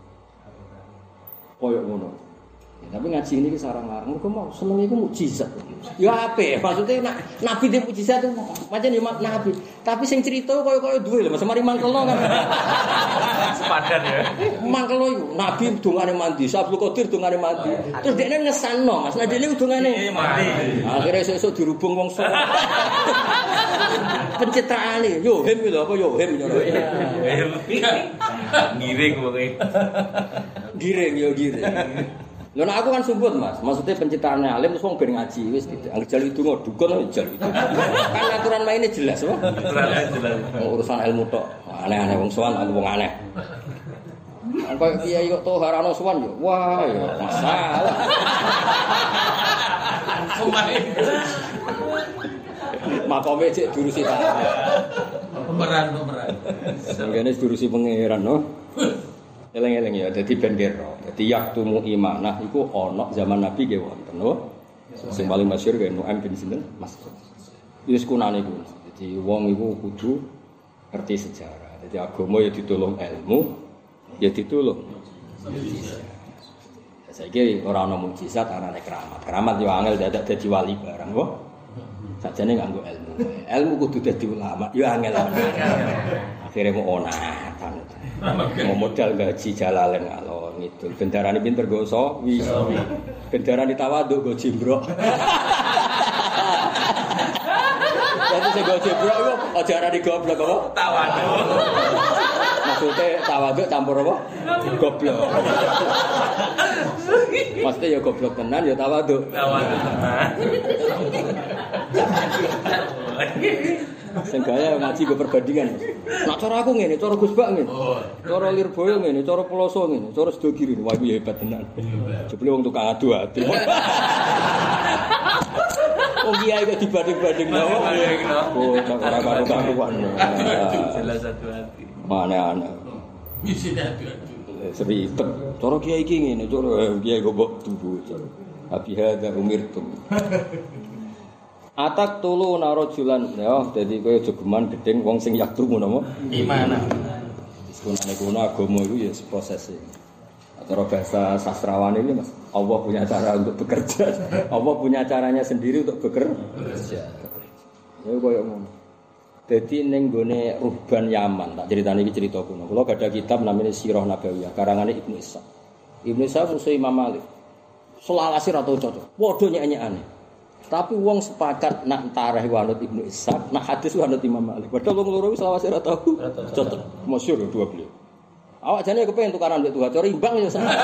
Kaya ngono. Ya, tapi ngaji ini ki sarang-sarang mergo mau seneng iku mukjizat. Ya apik, maksudnya nak nabi di mukjizat itu pancen ya nabi. Tapi sing cerita kaya-kaya duwe lho, mari mangkelno kan. Sepadan ya. Mangkelno iku nabi dongane mandi, Abdul Qadir dongane mandi. Terus dekne ngesanno, Mas. Nah dene dongane mandi. Akhire sesuk dirubung wong sok. Pencitraane, yo hem lho apa yo hem yo. Giring pokoke. Giring yo giring. Lho nek aku kan sumput Mas, maksudnya penciptaane alim terus wong ben ngaji wis gitu. Angger jalu donga dukun jalu itu. Kan aturan mainnya jelas, Pak. Aturannya jelas. Urusan ilmu tok. Aneh-aneh wong sowan aku wong aneh. Kok kiai kok toharano sowan yo. Wah, ya masalah. Pemain. Makome cek durusi ta. Pemeran, pemeran. Sangene durusi pangeran no. Eleng-eleng ya, dadi ben kira. Dadi yaktumu imanah iku ana zaman Nabi nggih wonten, no. Sing paling masyhur kan Nu'aim bin sinten? Mas. Wis kunane iku. Dadi wong iku kudu ngerti sejarah. Dadi agama ya ditulung ilmu, ya ditulung mukjizat. Saiki ora ana mukjizat, anane keramat. Keramat yo angel dadak dadi wali barang, kok. Sajane nganggo ilmu. Ilmu kudu dadi ulama, yo angel. Akhirnya mau onatan. Mau modal gaji Jalalain ngalor ngidul. Bendarane pinter go sawi. Bendarane tawaduk go jimbrok. Jadi sing go jimbrok iku aja arani goblok apa? Tawaduk. Maksudnya tawaduk campur apa? Goblok. Maksudnya ya goblok tenan ya tawaduk. Tawaduk tenan. Sing gaya ngaji go perbandingan. Nak cara aku ngene, cara Gus Bak ngene. Cara Lirboyo ngene, cara Peloso ngene, cara Sedogiri. Wah iki hebat tenan. Jebule wong tukang adu ati. Wong kiai kok dibanding-banding lho. Oh, ora karo-karuan. Jelas satu hati. Mana-ana. Misi adu-adu. Seribet. Cara kiai iki ngene, cara kiai kok mbok tubu. Abi hadza umirtum. Atak tulu narojulan ya dadi kowe aja geman gedeng wong sing yaktu ngono apa? Gimana? Sunane kuno agama iku ya proses e. Cara bahasa sastrawan ini Mas, Allah punya cara untuk bekerja. Allah punya caranya sendiri untuk bekerja. Ya koyo ngono. Dadi ning gone Ruhban Yaman, tak critani iki cerita kuno. Kula gadah kitab namanya Sirah Nabawiyah, karangane Ibnu Ishaq. Ibnu Ishaq musuh Imam Malik. Selalase ra tau cocok. Padha nyek-nyekane. Tapi wong sepakat nak tareh wanut Ibnu Ishaq, nak hadis wanut Imam Malik. Padahal wong loro wis selawase ra tau cocok. Masyhur dua beliau. Awak jane kepengin tukaran mbek Tuhan, cara imbang ya sama.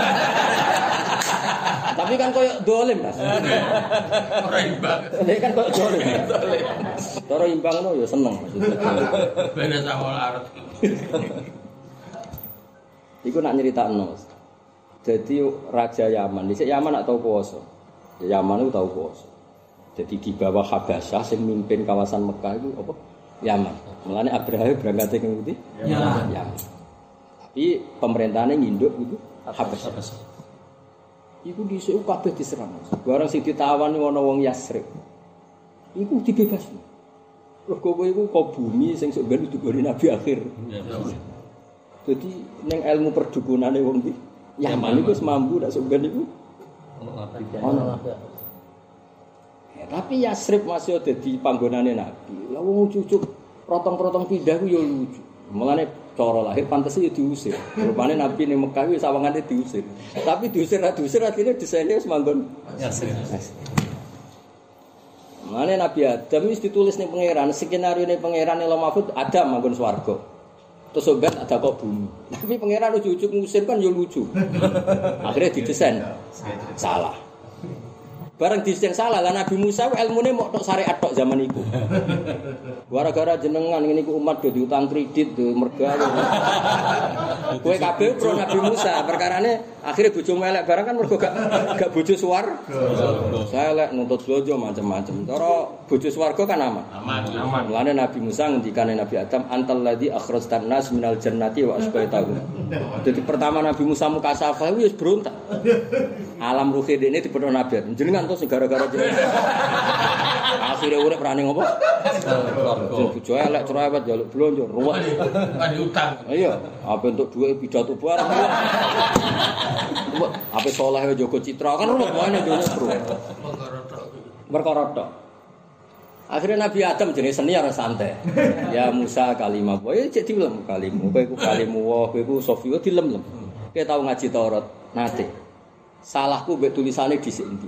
Tapi kan koyo dolim, Mas. Ora imbang. Nek kan koyo dolim. Cara imbang no ya seneng maksudnya. Beda sama arep. Iku nak nyeritakno. Jadi raja Yaman, dhisik Yaman nak tau puasa. Yaman itu tau puasa. Jadi di bawah Habasyah sing mimpin kawasan Mekah itu apa? Yaman. Mulane Abraha berangkat ke ngendi? Yaman. Yaman. Tapi pemerintahannya nginduk gitu Habasyah. Iku dhisik kabeh diserang. Barang sing ditawan ana wong Yasrib. Iku dibebasno. Mergo kowe iku kok bumi sing sok ben diberi nabi akhir. Jadi ning ilmu perdukunane wong iki Yaman iku wis mampu nek sok ben iku ono nabi. Tapi Yasrib masih ada di panggonane Nabi. Lah wong cucuk rotong-rotong pindah ku yo lucu. Mulane cara lahir pantese yo diusir. Rupane Nabi ning Mekah wis sawangane diusir. Tapi diusir ra diusir artine desaine wis manggon Yasrib. Mulane Nabi Adam wis ditulis ning pangeran, skenario ning pangeran ning Mahfud Adam manggon swarga. Terus sobat ada kok bumi. Tapi pangeran lucu-lucu ngusir kan yo lucu. Akhirnya didesain salah. Barang desain salah lah Nabi Musa ilmune mok tok syariat tok zaman iku. Gara-gara jenengan ngene iku umat do diutang kredit do mergawe. Kowe kabeh pro Nabi Musa, perkarane akhire bojomu elek barang kan mergo gak gak bojo suwar. Saya elek nuntut bojo macam-macam. Cara bojo swarga kan aman. Aman, aman. Mulane Nabi Musa ngendikane Nabi Adam antal ladzi akhrajtan nas minal jannati wa asbaitahu. Jadi pertama Nabi Musa mukasafah wis berontak. Alam ruhi dene dipetho Nabi. Jenengan to sing gara-gara jenengan. Akhire urip rane ngopo? Sing bojo elek cerewet njaluk blonjo ruwet. Kan utang. Iya, apa untuk duit pidato barang. Apa saleh Joko Citra kan ruwet wae dene ruwet. Perkara tok. Akhirnya Nabi Adam jenis senior santai. Ya Musa kalimah boy cek dilem kalimu. Kowe iku kalimu wa kowe iku Sofio dilem-lem. Kowe tau ngaji Taurat nate. Salahku mbek tulisane dhisik endi.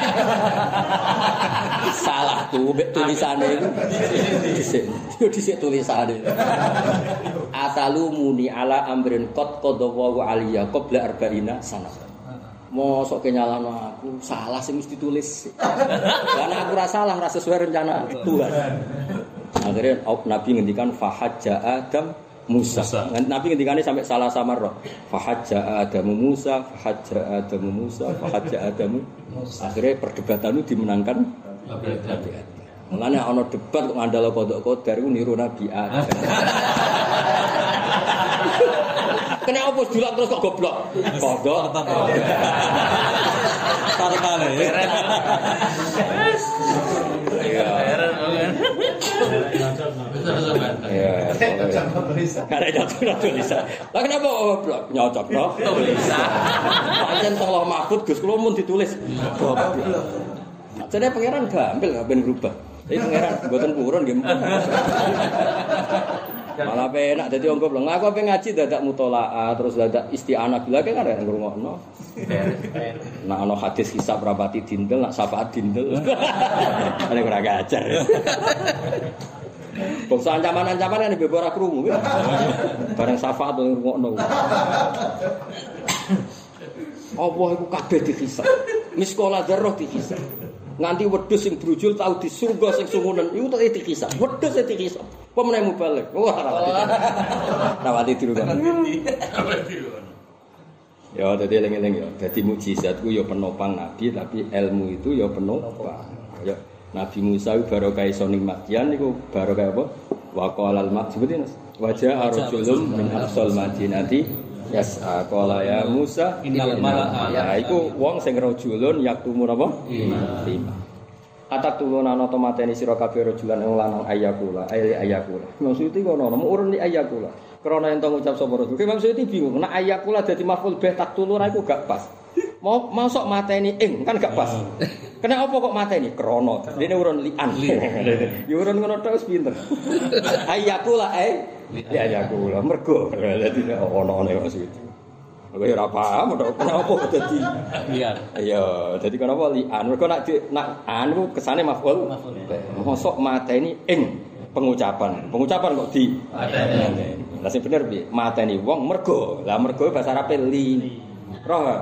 Salahku mbek tulisane iku dhisik. Yo dhisik tulisane. Atalumuni ala amrin qad qadawu aliya qabla arba'ina sanah. Mosok kenyalano aku salah sing mesti ditulis. Karena aku ora salah, ora sesuai rencana Tuhan. Akhirnya Nabi ngendikan fahajja Adam Musa. Nabi ngendikane sampai salah samar roh. Fahajja Adam Musa, fahajja Adam Musa, fahajja Adam Musa. Akhirnya perdebatan itu dimenangkan Nabi Adam. Mulane ana debat kok ngandalo kodok kodar iku niru Nabi Adam. Kena opo dulak terus kok goblok. Kodok tartane. Iya. Iya. Karena jatuh tulisan. Lah kenapa goblok? Nyocok no tulisan. Pancen tolong Mahfud Gus kula mun ditulis goblok. Jadi pangeran gampil ben berubah. Jadi pangeran mboten purun nggih. Malah penak dadi wong goblok. Aku pengen ngaji dadak mutolaah terus dadak isti'anah bila kan ada ngrungokno. Nak ana hadis hisab rapati dindel, nak syafaat dindel. Ane ora gajar. Bangsa ancaman-ancaman kan bebo ora krungu. Bareng syafaat ngrungokno. Allah iku kabeh dihisab. Miskola dzarrah dihisab. Nganti wedhus sing brujul tau di surga sing sungunen iku tak dihisab. Wedhus sing dihisab. Apa meneh mubalik? Wah, rawati diru kan. Ya, dadi eling-eling ya. Dadi mukjizat ku ya penopang nabi tapi ilmu itu ya penopang. Ya, Nabi Musa iku barokah iso ning Madyan niku barokah apa? Wa qalal maksubutin wajah arjulum min aqsal madinati yas'a qala ya Musa innal mala'a ya iku wong sing rajulun yaktumu napa? Lima. Atak tulun ana to mateni sira kabeh rajulan ing lanang ayakula, ayi ayakula. Maksud iki ngono, mau urun li ayakula. Krana ento ngucap sapa rasul. Ki maksud iki bingung, nek ayakula dadi maf'ul bih tak tulun iku gak pas. Mau masuk mateni ing kan gak pas. Kena apa kok mateni? Krana. Dene urun lian. Ya urun ngono tok wis pinter. Ayakula ae ya ayakula mergo dadi ono-ono maksud. Aku ora paham kenapa dadi lian. Iya, dadi kenapa lian? Mergo nak nak anu kesane maf'ul. Mosok mateni ing pengucapan. Pengucapan kok di mateni. Lah sing bener piye? Mateni wong mergo. Lah mergo bahasa Arabe li. Roh enggak?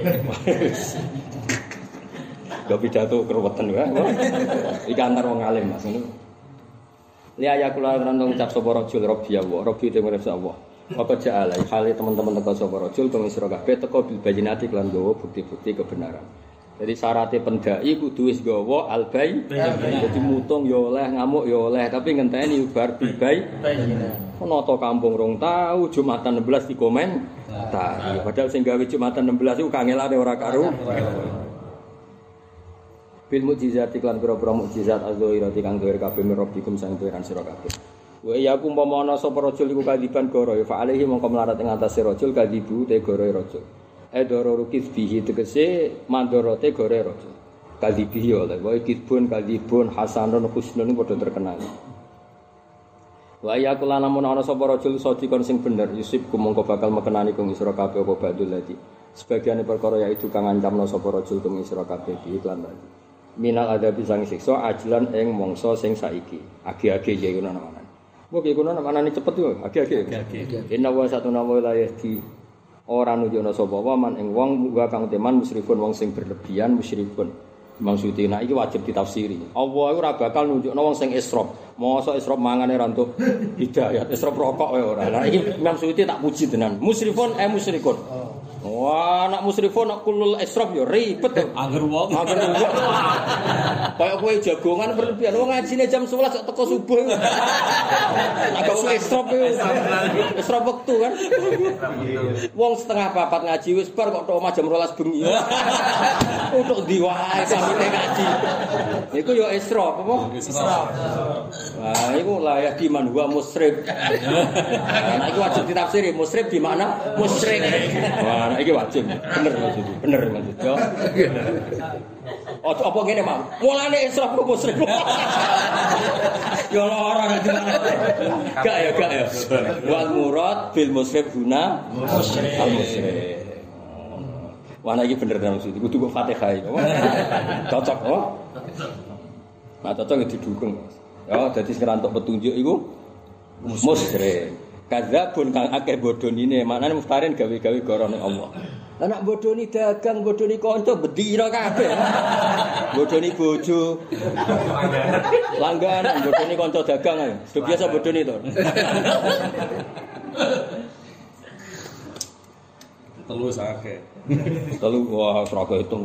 Gak pidato keruwetan wae. Iki antar wong alim Mas ngono. Li ayakula lan ngucap sapa rajul rabbi Allah, rabbi te mirip Allah. Apa ja'ala hale teman-teman teko sapa rajul kang sira kabeh teko bil bayinati lan gawa bukti-bukti kebenaran. Jadi syaratnya pendai kudu wis gawa albai. Jadi mutung ya oleh, ngamuk ya oleh, tapi ngenteni bar bibai. Ono to kampung rong tau Jumatan enam belas di komen. Tah, padahal sing gawe Jumatan enam belas iku kangelane ora karo. Bil mukjizat iklan pira-pira mukjizat azzairati kang gawe kabeh mirabbikum sang pangeran sira kabeh. Wa ya umpama ana sapa rajul iku kadiban goro ya fa alaihi mongko melarat ing atase rajul kadibu te goro rajul. Edoro rukis bihi tegese mandorote gore rajul. Kadibihi oleh wa kidbun kadibun hasanun husnun padha terkenal. Wa ya kula lamun ana sapa rajul sadikon sing bener yusib kumangka bakal mekenani kang sira kabeh apa badul lati. Sebagiane perkara yaitu kang ngancamno sapa rajul kang sira kabeh bi iklan lagi. Minal adabi sang siksa ajlan ing mangsa sing saiki. Agi-agi ya ngono namane. Mbok iki ngono namane cepet yo, agi-agi. Inna wa satuna wa la yahdi. Ora nunjukna sapa waman ing wong wa kang teman musyrifun wong sing berlebihan musyrifun. Maksudé nek iki wajib ditafsiri. Allah iku ora bakal nunjukna wong sing isrof. Mosok isrof mangane ra entuk hidayat, isrof rokok wae ora. Lah iki Imam Suyuti tak puji tenan. Musyrifun eh musyrikun. Wah, nak musrifun nak kulul isrof ya ribet to. Angger wong. Angger wong. Kayak kowe jagongan berlebihan. Wong ngajine jam sebelas kok teko subuh. Agak wong isrof yo. Isrof wektu kan. Wong setengah papat ngaji wis bar kok tok omah jam dua belas bengi. Untuk ndi wae sampe ngaji. Iku yo isrof apa? Isrof. Wah, iku layak di man wa musrif. Nah, iku wajib ditafsiri. Musrif di mana? Musyrik. Wah, nah, iki wajib. Bener maksud. Bener maksud. Yo. Oh, apa ngene, Mang? Mulane israf ku musyrik. Yo ora ngerti mana. Gak ya, gak ya. Wal murad bil musrif guna musyrik. Al musyrik. Wah, nah iki bener maksud. Kudu kok Fatihah iki. Cocok, oh. Nah, cocok didukung. Ya, dadi sekarang untuk petunjuk iku musyrik. Kadzabun kang akeh bodonine, maknane muftarin gawe-gawe gorone Allah. Lah nek bodoni dagang, bodoni kanca bedira kabeh. Bodoni bojo. Langganan bodoni kanca dagang ae. Sudah biasa bodoni to. Telu sakeh. Telu wah ora kehitung.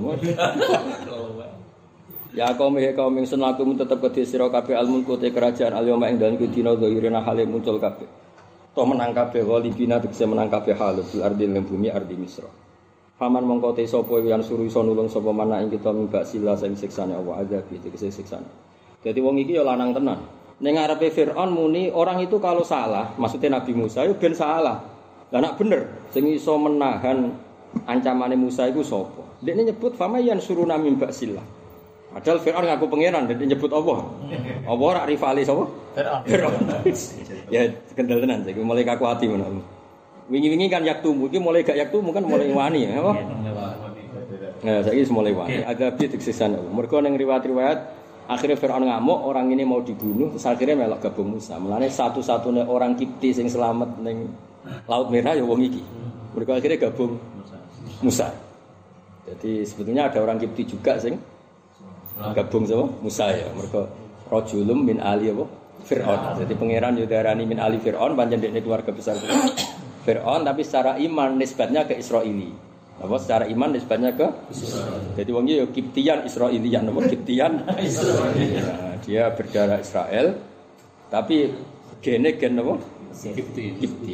Ya kaum he kaum ingsun lakum tetep kedhe sira kabeh almulku te kerajaan alyoma ing dalem dina zahirina hale muncul kabeh. To menang kabeh walibina tegese menang kabeh hal bil ardi ing bumi ardi Misra. Faman mongko te sapa yang suruh iso nulung sapa mana ing kita mbak sila sing siksane Allah azab tegese siksane. Dadi wong iki ya lanang tenan. Ning ngarepe Firaun muni orang itu kalau salah, maksudnya Nabi Musa yo ben salah. Lah nek bener sing iso menahan ancamane Musa iku sapa? Dekne nyebut famayan suruh nami mbak sila. Padahal Firaun ngaku pangeran dan nyebut Allah. Allah ora rivali sapa? Fir'aun. Ya kendel tenan saiki mulai kaku ati ngono. Wingi-wingi kan yaktumu iki mulai gak yaktumu kan mulai wani ya apa? Nah, saiki mulai wani. Ada pitik sisan. Mergo ning riwayat-riwayat akhirnya Fir'aun ngamuk, orang ini mau dibunuh, terus akhirnya melok gabung Musa. Mulane satu-satunya orang Kipti sing selamat ning Laut Merah ya wong iki. Mergo akhirnya gabung Musa. Jadi sebetulnya ada orang Kipti juga sing gabung sama Musa ya. Mergo rajulum min ali apa? Fir'aun. Jadi pangeran yo darani min ali Fir'aun, pancen dekne keluarga besar Fir'aun, tapi secara iman nisbatnya ke Israili. Apa secara iman nisbatnya ke Israel. Jadi wong iki yo Kiptian Israelian, apa Kiptian Israelian. Nah, dia berdarah Israel tapi gene gen apa? Kipti. Kipti.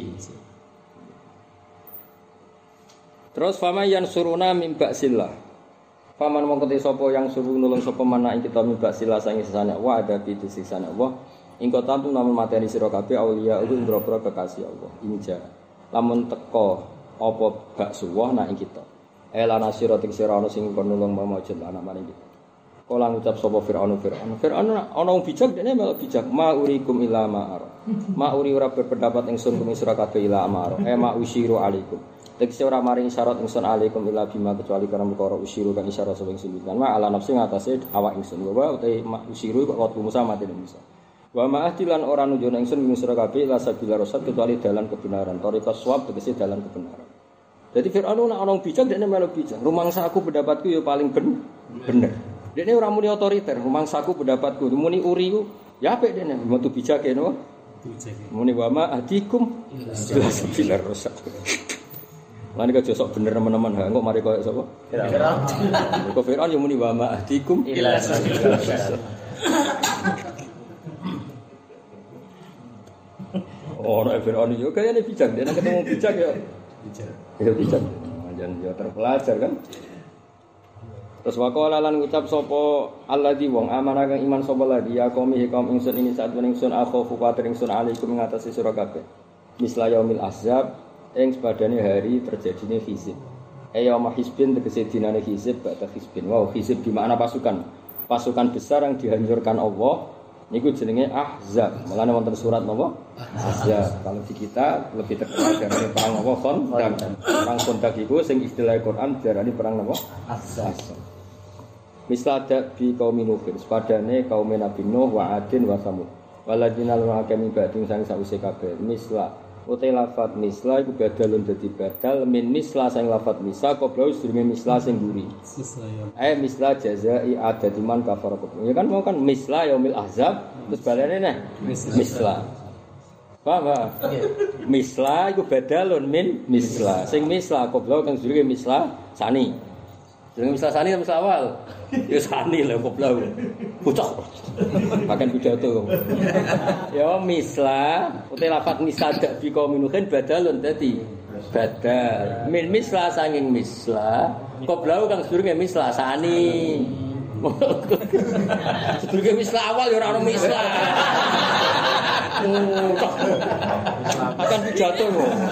Terus fama yansuruna min ba'sillah. Faman mongko te sapa yang suruh nulung sapa mana ing kita min ba'sillah sange sesane wa ada pitu sisane Allah. Ing kotam namun mateni sira kabeh auliya uga ndro-ndro kekasih Allah. Inja. Lamun teko apa bak suwah nak ing kita. Ela nasira ting sira ana sing kon nulung mamajud anak maring kita. Kala ngucap sapa Firaun Firaun. Firaun ana wong bijak dene melok bijak. Ma urikum ila ma'ar. Ma uri ora berpendapat ingsun kumi sira kabeh ila ma'ar. E ma usiru alaikum. Tegese ora maring isyarat ingsun alaikum ila bima kecuali karena perkara usiru kan isyarat sing ingsun. Ma ala nafsi ngatasé awak ingsun. Wa utai ma usiru kok waktu Musa mati Musa. Wa ma'ahdilan ora nunjukna ingsun kumi sira kabeh ila sabila rasad kecuali dalan kebenaran. Thariqas shawab tegese dalan kebenaran. Jadi Fir'aun nak orang bijak, dia malah bijak. Rumangsa aku pendapatku ya paling ben, bener. Dia orang muni otoriter. Rumangsa aku pendapatku, muni uri ku, ya apa dia nih? Mau tu bijak ya no? Muni wama adikum, jelas bilar rosak. Lain kau josok bener teman-teman, enggak mari kau siapa? Fir'aun. Kau Fir'aun yang muni wama adikum, jelas bilar rosak. Orang Fir'aun juga kayaknya bijak. Dia nak ketemu bijak ya. Itu bijak. Jangan dia terpelajar kan. Terus waqala lan ngucap sapa alladzi wong amanah kang iman sapa ladi ya qaumi kaum ingsun ini saat ingsun akhofu kuatir ingsun alaikum ngatasi sira kabeh. Misla yaumil ahzab ing sepadane hari terjadinya hizib. Ayyama hizbin tegese dinane hizib ba'da hizbin. Wow, hizib di makna pasukan. Pasukan besar yang dihancurkan Allah. Niku jenenge Ahzab. Mulane wonten surat napa? Ahzab. Kalau di kita lebih terkenal dari perang apa? Khandaq. Perang Khandaq iku sing istilah Quran diarani perang napa? Ahzab. Misal ada bi kaum Nuh, sepadane kaum Nabi Nuh wa Adin wa Samud. Waladina lan kami bading sang sause kabeh. Misla utai lafat misla iku badalun dadi badal min misla sang lafat misa qabla sedurunge misla sing mburi. Eh misla jazai adati man kafara. Ya kan mau kan misla yaumil ahzab terus balane nah misla. Paham ba? Misla iku badalun min misla. Sing misla qabla kang sedurunge misla sani. Sedurunge misla sani misla awal. Ya sani lho qabla. Pucuk. Makan pidato. Ya misla, uti lafat misadak bi kaum minuhin badalun dadi badal. Min misla sanging misla, qablau kang sedurunge misla sani. Sedurunge misla awal ya ora ono misla. Makan pidato.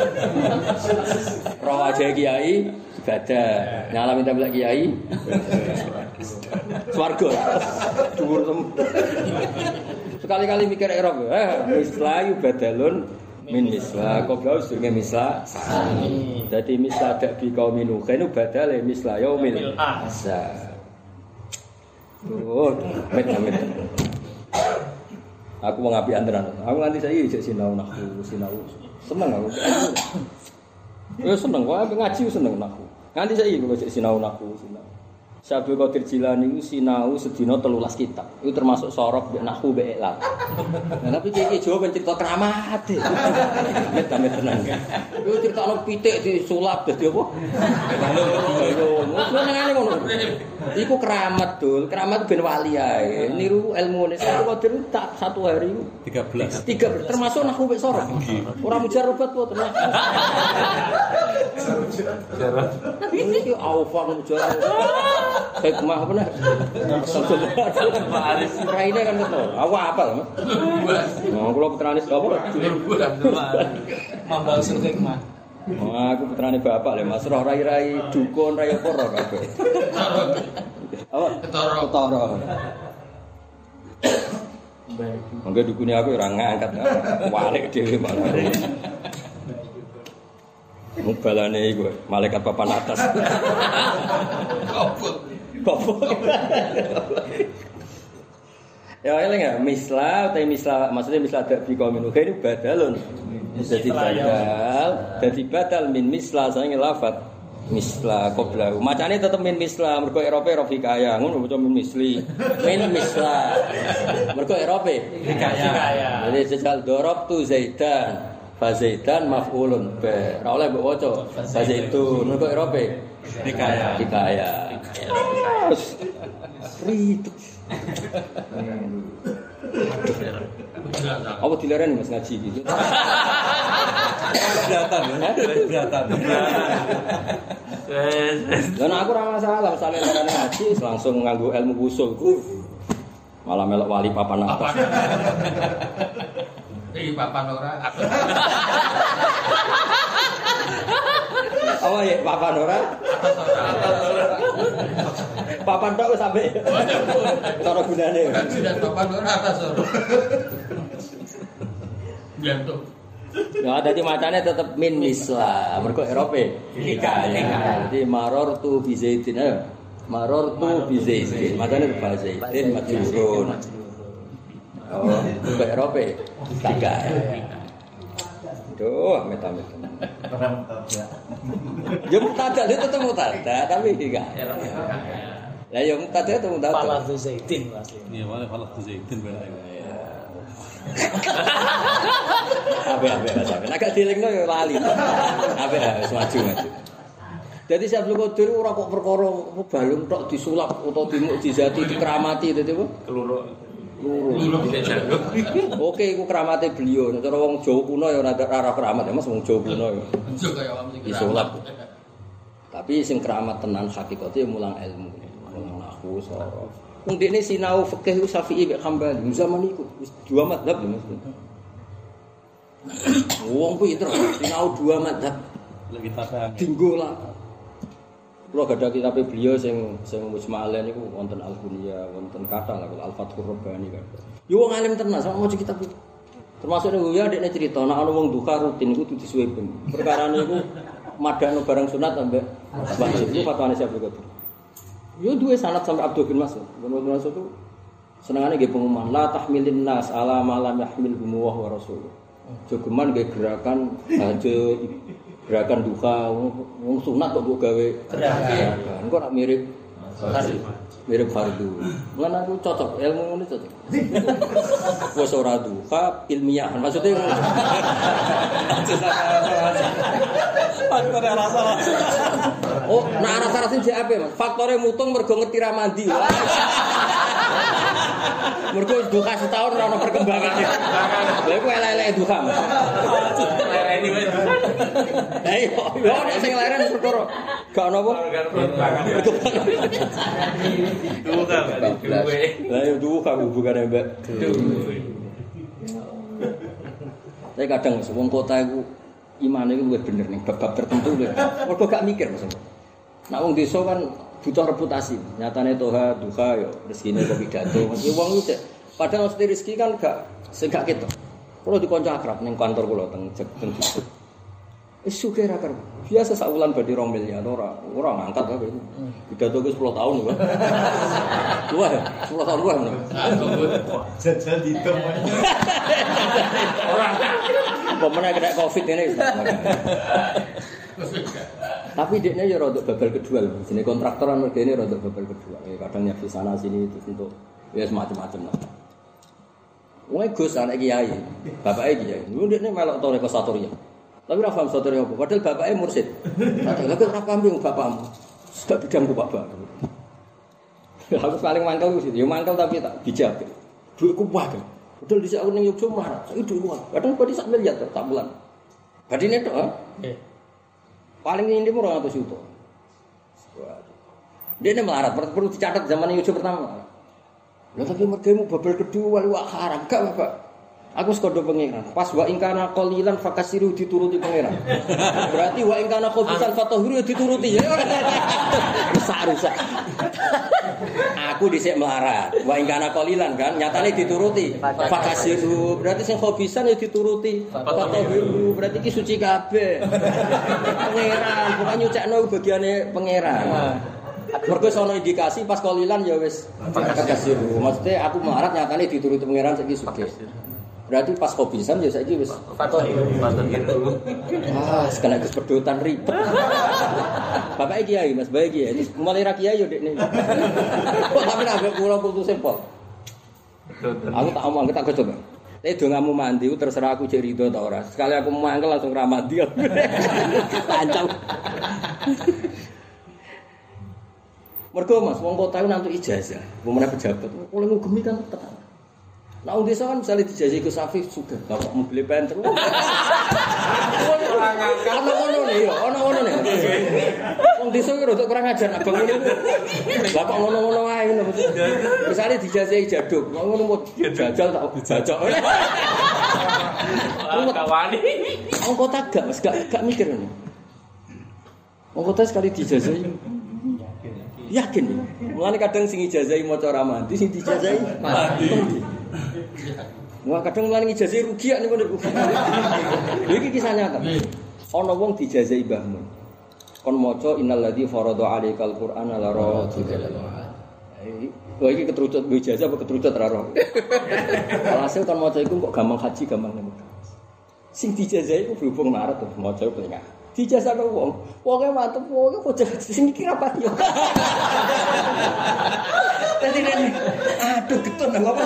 Roh aja kiai badal. Nyala minta belak kiai. Swarga. Dhuwur tem. Sekali-kali mikir Arab, eh misla yu badalun min misla, qabla sedurunge misla sani. Dadi misla dak bi kaum Nuh, kene badale misla yaumil ahzab. Oh, met-met. Aku mau ngapi antenan. Aku nganti saiki isih sinau nahwu, sinau. Seneng aku. Ya seneng, wae ngaji seneng nahwu. Nganti saiki kok isih sinau nahwu, sinau. Syabul Qadir Jilani itu sinau sedina telulas kitab. Itu termasuk sorok mbek nahwu mbek ikhlas. Nah, tapi iki Jawa ben cerita keramat. Met-met tenan. Itu cerita ono pitik disulap dadi apa? Ayo, ngono ngono. Iku keramat, Dul. Keramat ben wali ae. Niru ilmune Syabul Qadir tak satu hari tiga belas. tiga belas termasuk nahwu mbek sorok. Ora mujarrabat kok tenan. Mujarrab. Iki awfaq mujarrab. Hikmah apa nah? Aris raine kan betul. Aku apal, Mas. Nah, kula putrane sapa? Mambal sul hikmah. Oh, aku putrane bapak lho, Mas. Roh rai-rai dukun rai apa roh kabeh. Apa? Ketara. Ketara. Mangga dukune aku ora ngangkat. Walik dhewe malah. Mubalane iku malaikat papan atas. Kopot. Kopot. Ya eling ya misla utawa misla maksudnya misla dari kaum ini ini badalun. Jadi badal, jadi badal min misla sange lafat misla qabla. Macane tetep min misla mergo Eropa ro hikayah ngono maca min misli. Min misla. Mergo Eropa hikayah. Jadi sejal dorop tu Zaidan. Fa Zaidan maf'ulun bi. Ora oleh mbok waca fa Zaitun mergo Eropa hikayah. Hikayah. Ribet. Apa dilarani Mas ngaji gitu? Beratan ya. Beratan. Dan aku ora masalah, misale larani ngaji langsung nganggo ilmu usul ku. Malah melok wali papan atas. Iki papan ora. Apa ya papan ora? Papan tok sampe. Cara gunane. Sudah papan ora atas ora. Jantung. Ya dadi macane tetep min misla. Mergo Eropa hikayah. Dadi maror tu bi Zaidin. Maror tu bi Zaidin. Macane ba Zaidin majrurun. Oh, mergo Eropa hikayah. Duh, amit-amit. Ya mutadah itu tetep mutadah, tapi hikayah. Lah ya mutadah itu mutadah. Falah tu Zaidin asli. Iya, malah falah tu Zaidin bener. Abe-abe sampe. Nek gak dilingno ya lali. Abe wis maju-maju. Dadi Syaikhul Qadir ora kok perkara balung tok disulap utawa dimukjizati dikeramati dadi apa? Keluro. Luru. Oke, iku keramate beliau. Nek cara wong Jawa kuno ya ora ora keramat ya Mas wong Jawa kuno ya. Iso kaya wong iki. Disulap. Tapi sing keramat tenan hakikate mulang ilmu. Mulang nahwu saraf. Wong dekne sinau fikih ku Syafi'i mek Hambali. Zaman iku wis dua mazhab lho Mas. Wong pinter sinau dua mazhab. Lagi tabang. Dinggo lah. Kulo gadah kitab beliau sing sing mujma'alen niku wonten Al-Bunya, wonten kathah lah Al-Fathur Rabbani kan. Yo wong alim tenan sama maca kitab iki. Termasuk niku ya dekne crita nek ana wong duka rutin iku kudu disuweben. Perkarane iku madano barang sunat ambek wajib. Iku fatwane Syaikhul Qadir. Yo duwe sanad sampai Abdul bin Mas'ud. Bin Mas'ud itu senengane nggih pengumuman la tahmilin nas ala ma lam yahmilhu wa rasul. Jogeman nggih gerakan hajat gerakan duka wong sunat kok mbok gawe gerakan. Engko nak mirip mirip fardu. Lan aku cocok ilmu ngene cocok. Wis ora duka ilmiah. Maksudnya Faktor rasa-rasa. oh, nah rasa-rasa jek ape, Mas? Faktore mutung mergo ngerti ra mandi. Mergo duka setahun ora ono perkembangan. Lha iku elek-elek duka, Mas. Lereni wae. Lah iya, yo nek sing leren perkara gak ono apa? Duka duwe. Lah yo duka hubungane mbak. Tapi kadang wong kota iku imane iku luwih bener ning bab-bab tertentu lho. Mergo gak mikir Mas. Nek wong desa kan butuh reputasi. Nyatane toha duka yo rezekine kok pidato. Mas wong iki padahal mesti rezeki kan gak sing gak ketok. Kulo dikonco akrab ning kantor kula teng teng desa. Wis sugih ra karo. Biasa sak wulan badhe rong miliar ora ora ngangkat apa itu. Pidato wis sepuluh tahun lho. Wah, sepuluh tahun luwih men. Jajal ditem. Ora. Pemene kena Covid ini. Tapi dekne ya rodok babal kedua lho. Jenenge kontraktoran mergene rodok babal kedua. Ya kadang nyapi sana sini terus untuk ya semacam-macam lah. Wong Gus anak kiai, bapake kiai. Lu dekne melok toreko satoria. Tapi ora paham satoria apa. Padahal bapake mursid. Padahal kok ora paham bapakmu. Sudah bidangku Bapak. Aku paling mangkel ku ya mangkel tapi tak bijak. Duitku wae. Padahal dhisik aku ning Yogyakarta marah. Saiki duitku wae. Padahal kok sak miliar tak bulan. Badine tok, ha? Nggih. Paling ini murah ratus juta. Dia ini melarat, perlu dicatat zaman Yogyakarta pertama. Lah tapi mergemu babel kedua lu haram gak Bapak. Aku sekodo pangeran. Pas wa ingkana qalilan fakasiru dituruti pangeran. Berarti wa ingkana khobisan fatahiru dituruti. Ya rusak-rusak. Aku dhisik melarat. Wa ingkana qalilan kan nyatane dituruti. Fakasiru berarti sing khobisan ya dituruti. Fatahiru berarti iki suci kabeh. Pangeran bukan nyucekno bagiane pangeran. Mergo sono indikasi pas qalilan ya wis fakasiru. Maksudnya aku melarat nyatane dituruti pangeran saiki sugih. Berarti pas kopisan ya saiki wis Fatoh Fatoh gitu. Ah, sekali kesedotan ribet. Bapak kiai Mas, baik kiai. Mulai ra kiai yo dekne. Kok tapi nak kula putus sempol. Aku tak omong, tak coba. Nek dongamu mandi terserah aku cek rido ta ora. Sekali aku mangkel langsung ra mandi. Lancang. Mergo Mas, wong kota iku nantuk ijazah. Wong meneh pejabat. Oleh ngugemi kan tekan. Nah, untuk desa kan misalnya dijajahi ke Safif juga, bapak mau beli penter. Ono-ono nih, ono-ono nih. Untuk desa itu untuk kurang ajar, abang ini. Bapak ngono-ngono aja, misalnya dijajahi jaduk, ngono mau jajal tak jajak. Kawani. Orang kota gak, mas gak gak mikir nih. Orang kota sekali dijajahi. Yakin, mulane kadang sing ijazahi maca ra mandi, sing dijazahi mandi. Wah kadang mulane ijazah rugi ya niku niku. Lha iki kisah nyata. Ana wong dijazahi Mbah Mun. Kon maca innalladzi farada 'alaikal qur'ana la radika. Lha iki ketrucut ijazah apa ketrucut ra roh. Alhasil kon maca iku kok gampang haji gampang niku. Sing dijazahi iku berhubung marat terus maca pengen. Dijazah karo wong. Wonge mantep wonge bocah sing iki rapati yo. Dadi nek aduh getun nang apa.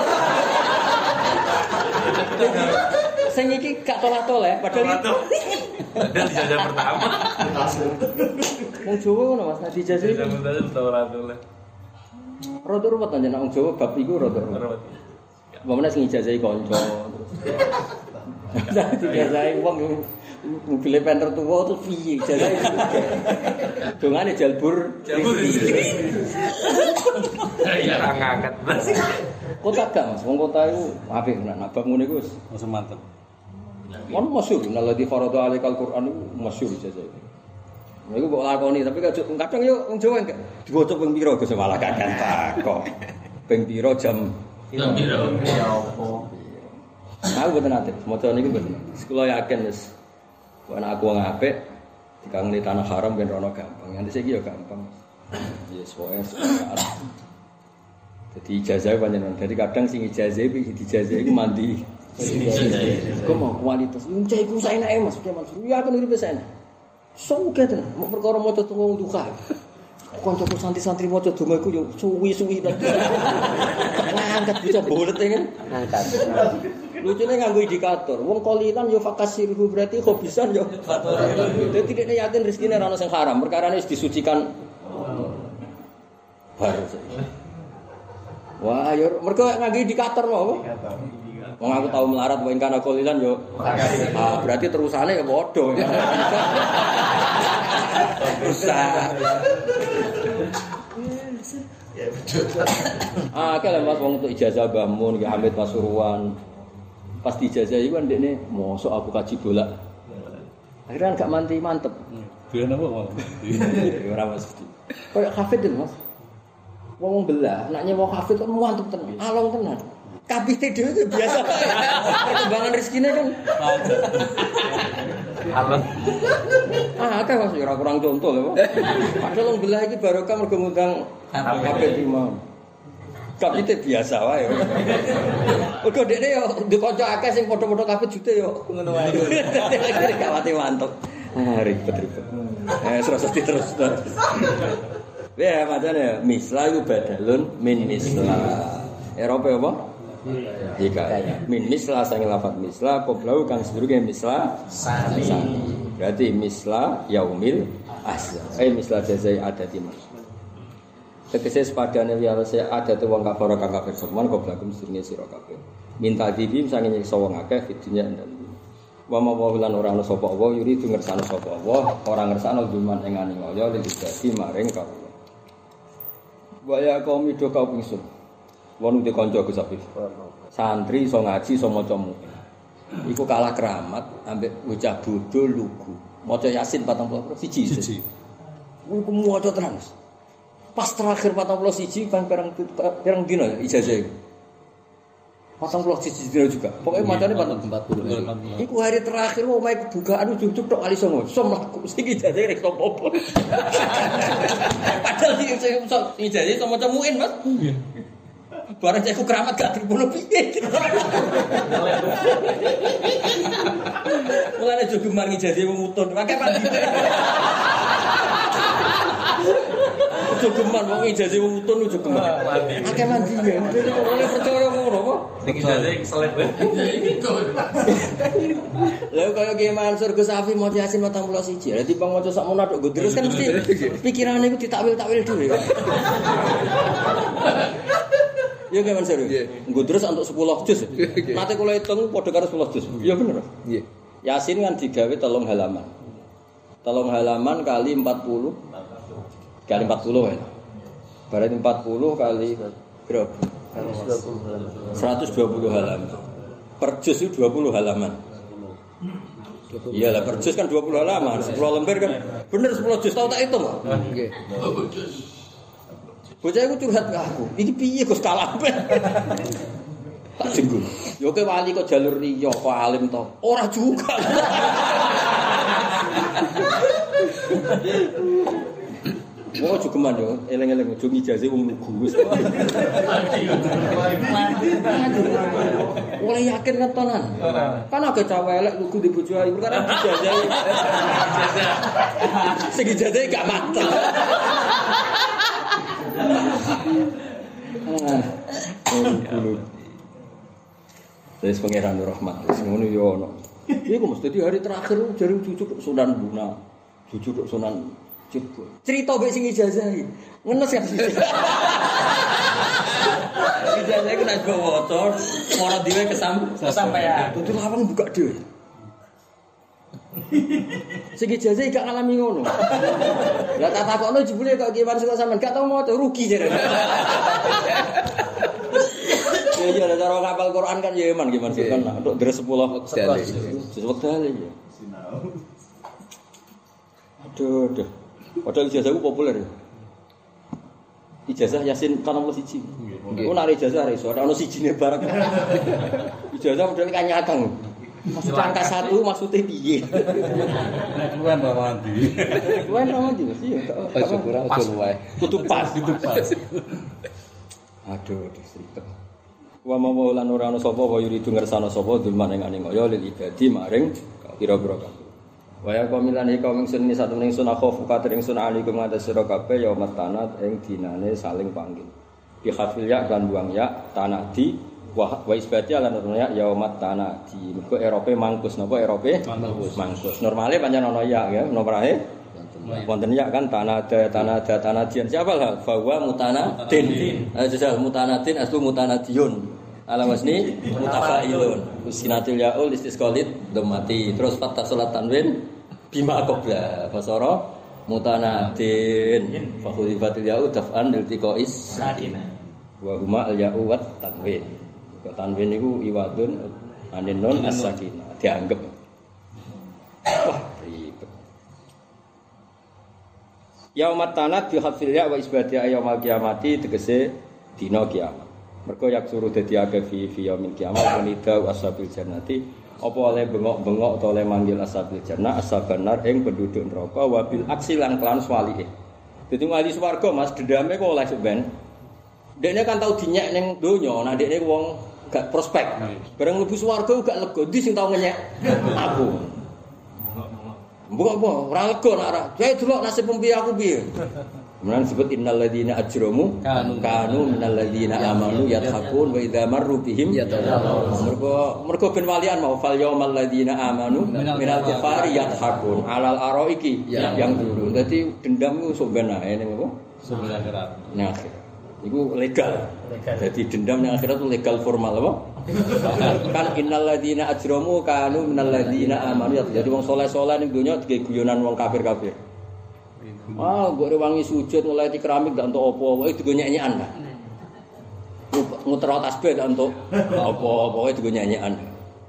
Sing iki gak tolak-tolak padahal itu. Dan dijajah pertama. Wong Jawa ngono Mas, dijajah. Dijajah pertama tolak-tolak. Rada ruwet aja nek wong Jawa bab iku rada ruwet. Pemene sing ijazahi kanca terus. Dijazahi wong mobil penter tuwa terus piye ijazahi. Dongane jalbur. Jalbur. Ya ra ngangkat. Kota gak Mas, wong kota iku apik nek nabak ngene iku wis mantep. Ono masyhur, nalladzi farada 'alaikal qur'an masyhur ijazahi. Nah iku mbok lakoni tapi kadang yo wong Jawa enggak diwaca ping pira Gus malah kakek takok. Ping pira jam Ping pira ya apa. Aku mboten nate, maca niku mboten. Kula yakin wis ana aku wong apik dikangeni tanah haram ben rono gampang. Nganti saiki yo gampang. Yes, wae. Jadi ijazah panjenengan. Jadi kadang sing ijazah iki dijazah iku mandi. Kok mau kualitas.Ncah iku saenake Mas, Mansur. Ya aku nuripe saenak. Soge tenan, mau perkara maca tunggu duka. Kancaku santri-santri maca donga iku yo suwi-suwi ta. Ngangkat bisa bolet kan. Ngangkat. Lucune nganggo indikator. Wong kolilan yo fakasirhu berarti khobisan yo. Dadi nek yakin rezekine ora ono sing haram, perkarane wis disucikan. Baru. Wah, yo mergo nganggo indikator mau. Wong aku tau melarat wae kana kolilan yo. Ah, berarti terusane ya padha. Rusak. Ya betul. Ah, kalau Mas wong untuk ijazah Mbah Mun, ya Hamid Pasuruan. Pas ijazah iku ndekne mosok aku kaji bolak. Akhirnya gak manti mantep. Doyan apa malah? Ora mesti. Kayak hafid Mas. Wong belah, anaknya wong hafid kan mantep tenan, along tenan. Kapite dhewe itu biasa. Perkembangan rezekine kan. Alon. Ah, akeh Mas ora kurang contoh lho. Padahal wong belah iki barokah mergo ngundang hafid imam. Kapite biasa wae. Mergo dekne yo ndek kanca akeh sing padha-padha hafid jute yo ngono wae. Gak mati mantep. Ah, ribet-ribet. Eh, terus terus terus. Ya, macane misla iku badalun min misla. Eropa apa? Jika min misla sang lafaz misla qoblau kang sedurunge misla sani. Berarti misla yaumil asya. Eh misla jazai adati mas. Tegese sepadane wiyarose adate wong kafir kang kafir semen qoblagum sedurunge sira kabeh. Minta dibim sang nyiksa wong akeh fidunya dan wa ma wa lan ora ana sapa Allah yuri du ngersane sapa Allah ora ngersane duman ing aningoyo lidadi maring kawula. Wa ya qaumi do kaum ingsun. Wong di kanca Gus Afif. Santri iso ngaji iso maca mu. Iku kalah keramat ambek bocah bodho lugu. Maca Yasin patang puluh siji. Siji. Iku maca terus. Pas terakhir patang puluh siji bang perang perang dino ijazah iku. Patang puluh siji dino juga. Pokoknya macane patang empat puluh. Iku hari terakhir omahe kebukaan ujug-ujug tok kali songo. Som mlaku sing ijazah rek apa-apa. Padahal sing ijazah iso maca muin, Mas. Barang cekku keramat gak terbunuh piye. Mulane jogeman ijazah wong mutun. Akeh pandite. Jogeman wong ijazah wong mutun jogeman. Akeh mandine. Ora percaya ngono apa? Sing ijazah seleb. Lha kaya Ki Mansur Gus Afi mau Yasin patang puluh siji. Lah timbang maca sak mono tok terus kan mesti pikirane iku ditakwil-takwil dhewe. Iya Ki Mansur. Nggo terus untuk sepuluh juz. Nate kula hitung padha karo sepuluh juz. Iya bener. Nggih. Yasin kan digawe telung halaman. Telung halaman kali empat puluh. Kali empat puluh ya. Berarti empat puluh kali berapa? seratus dua puluh halaman. Per juz itu dua puluh halaman. Iyalah per juz kan dua puluh halaman, sepuluh lembar kan. Bener sepuluh juz tau tak hitung kok. Nggih. Bocah iku curhat ke aku. Iki piye Gus kalampe? Tak jenggur. Yo ke wali kok jalur liya kok alim to. Ora juga. Wong jogeman yo, eleng-eleng ojo ijazah wong lugu wis. Ora yakin ketonan. Kan agak cawe elek lugu di bojo ayu perkara ijazah. Sing ijazah gak mateng. Ah. Wis pangeran rahmat wis ngono yo ono. Iku mesti di hari terakhir jare cucu Sunan Buna. Cucu Sunan Jebul. Cerita mbek sing ijazah iki. Ngenes ya. Ijazah iku nek go waca, ora dhewe kesam kesampean. Dudu lawang buka dhewe. Sing ijazah gak ngalami ngono. Lah tak takokno jebule kok Ki Mansur sampean gak tau maca rugi jare. Ya ya cara ngapal Quran kan ya eman Ki Mansur kan untuk deres sepuluh wekdal ya. Aduh, aduh. Padahal ijazahku populer. Ijazah Yasin patang puluh siji. Ku nek ijazah iso, ora ono sijine bareng. Ijazah model kanyakang. Maksud angka satu maksudnya piye? Nek luwen ra mandi. Luwen ra mandi mesti ya. Aja kurang aja luwe. Kudu pas, kudu pas. Aduh, disripet. Wa mawlan ora ana sapa wa yuridu ngersana sapa dulman ing aning kaya lil ibadi maring pira-pira kabeh. Wa ya qamilan iki kaum ingsun satu ning sunah khofu kater ingsun alikum ngatas sira kabeh ya matanat ing dinane saling panggil. Bi khafil ya lan buang ya tanadi wa wa isbati lan ya yaumat tanadi. Mergo Erope mangkus napa Erope mangkus. Mangkus. Normale pancen ana ya ya nomrahe wonten ya kan tanada tanada tanadian siapa lah bahwa mutanadin. Ajal mutanadin aslu mutanadiun. Ala wasni mutafailun. Usinatul yaul istisqalit dhammati. Terus fathah salat tanwin bima qabla fasara mutanadin. Fa khulifatul yaul daf'an lil tiqais sakina. Wa huma al ya'u wat tanwin. Tanwin niku iwadun anin nun as-sakinah dianggap. Wah, ribet. Yaumat tanat bi hafil ya wa isbati yaumil qiyamati tegese dina kiamat. Mergo yak suruh dadi akeh fi fi yaumil kiamat wanida ashabil jannati apa oleh bengok-bengok atau oleh manggil ashabil jannah ashaban nar ing penduduk neraka wabil aksi lan kelan swalike. Dadi wali swarga Mas dendame kok oleh sampean. Dekne kan tau dinyek ning donya, nah dekne wong gak prospek. Bareng mlebu swarga gak lega, ndi sing tau ngenyek aku. Mbok apa ora lega nak ora. Kae delok nasib piye aku piye. Kemudian disebut innal ladzina ajramu kanu minal ladzina amanu yadhakun wa idza marru bihim yatadhakkun. Mergo mergo ben walian mau fal yaumal ladzina amanu minal kufari yadhakun alal araiki yang dulu. Dadi dendam ku sok ben ae ning apa? Sok ben akhirat. Ning akhirat. Iku legal. Jadi dendam ning akhirat itu legal formal apa? Kan innal ladzina ajramu kanu minal ladzina amanu. Jadi wong saleh-saleh ning donya dige guyonan wong kafir-kafir. Ah, gak rewangi sujud mulai di keramik gak untuk apa-apa, itu gue nyanyian lah. Nguter tasbih gak untuk apa-apa, itu gue nyanyian.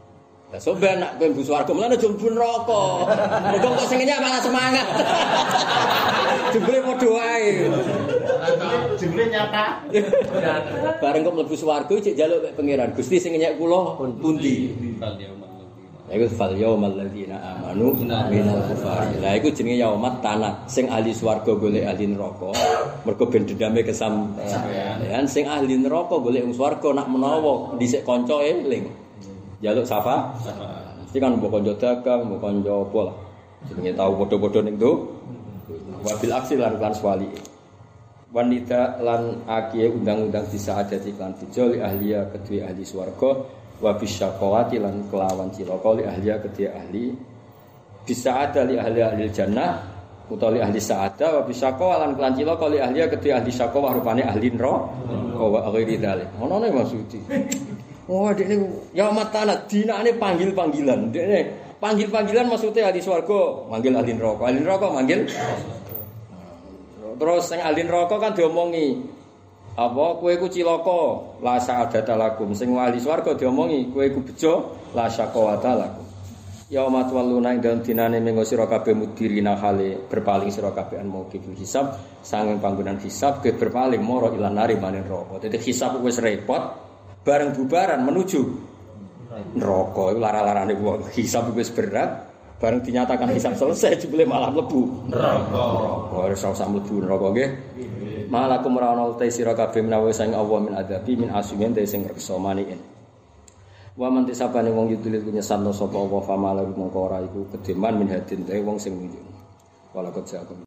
Lah soben nak kowe mlebu swarga mulane aja mlebu neraka. Mergo kok sing ngenyek malah semangat. Jebule padha wae. Jebule nyata. Bareng kok mlebu swarga cek njaluk mek pangeran. Gusti sing ngenyek kula pundi? Lah iku fal yaumal ladzina amanu minal kufar. Lah iku jenenge yaumat tanah. Sing ahli swarga golek ahli neraka. Mergo ben dendame kesampean. Sing ahli neraka golek wong swarga nak menawa dhisik kanca eling. Jaluk safa. Mesti kan mbok kanca dagang, mbok kanca apa lah. Jenenge tau padha-padha ning tu. Wabil aksi lan lan swali. Wanita lan akiye undang-undang bisa ada di klan dijoli ahliya kedua ahli swarga. Wa bisyaqawati lan kelawan cilaka li ahliya kedhe ahli bisa ada li ahli ahli jannah utawi ahli sa'ada wa bisyaqawa lan kelan cilaka li ahliya kedhe ahli syaqawa rupane ahli neraka wa ghairi dzalik ngono ne maksudi oh dekne ya matana dinane panggil-panggilan dekne panggil-panggilan maksudnya ahli swarga manggil ahli neraka ahli neraka manggil terus sing ahli neraka kan diomongi apa kowe iku cilaka la sa'adata lakum sing wali swarga diomongi kowe iku bejo la syaqawata lakum ya umat waluna ing dalem dinane mengko sira kabeh mudirina hale berpaling sira kabeh an mauqif hisab sanging panggonan hisab ke berpaling mara ilan nari maning neraka dadi hisab wis repot bareng bubaran menuju neraka iku lara-larane wong hisab wis berat bareng dinyatakan hisab selesai jebule malah mlebu neraka neraka ora usah mlebu neraka nggih malakum rawana utai sira kabeh menawa sang Allah min adabi min asumin te sing reksa maniin. Wa man tisabane wong yutulit nyesatno sapa Allah famala mongko ora iku kedeman min hadin te wong sing nunjuk. Wala kecak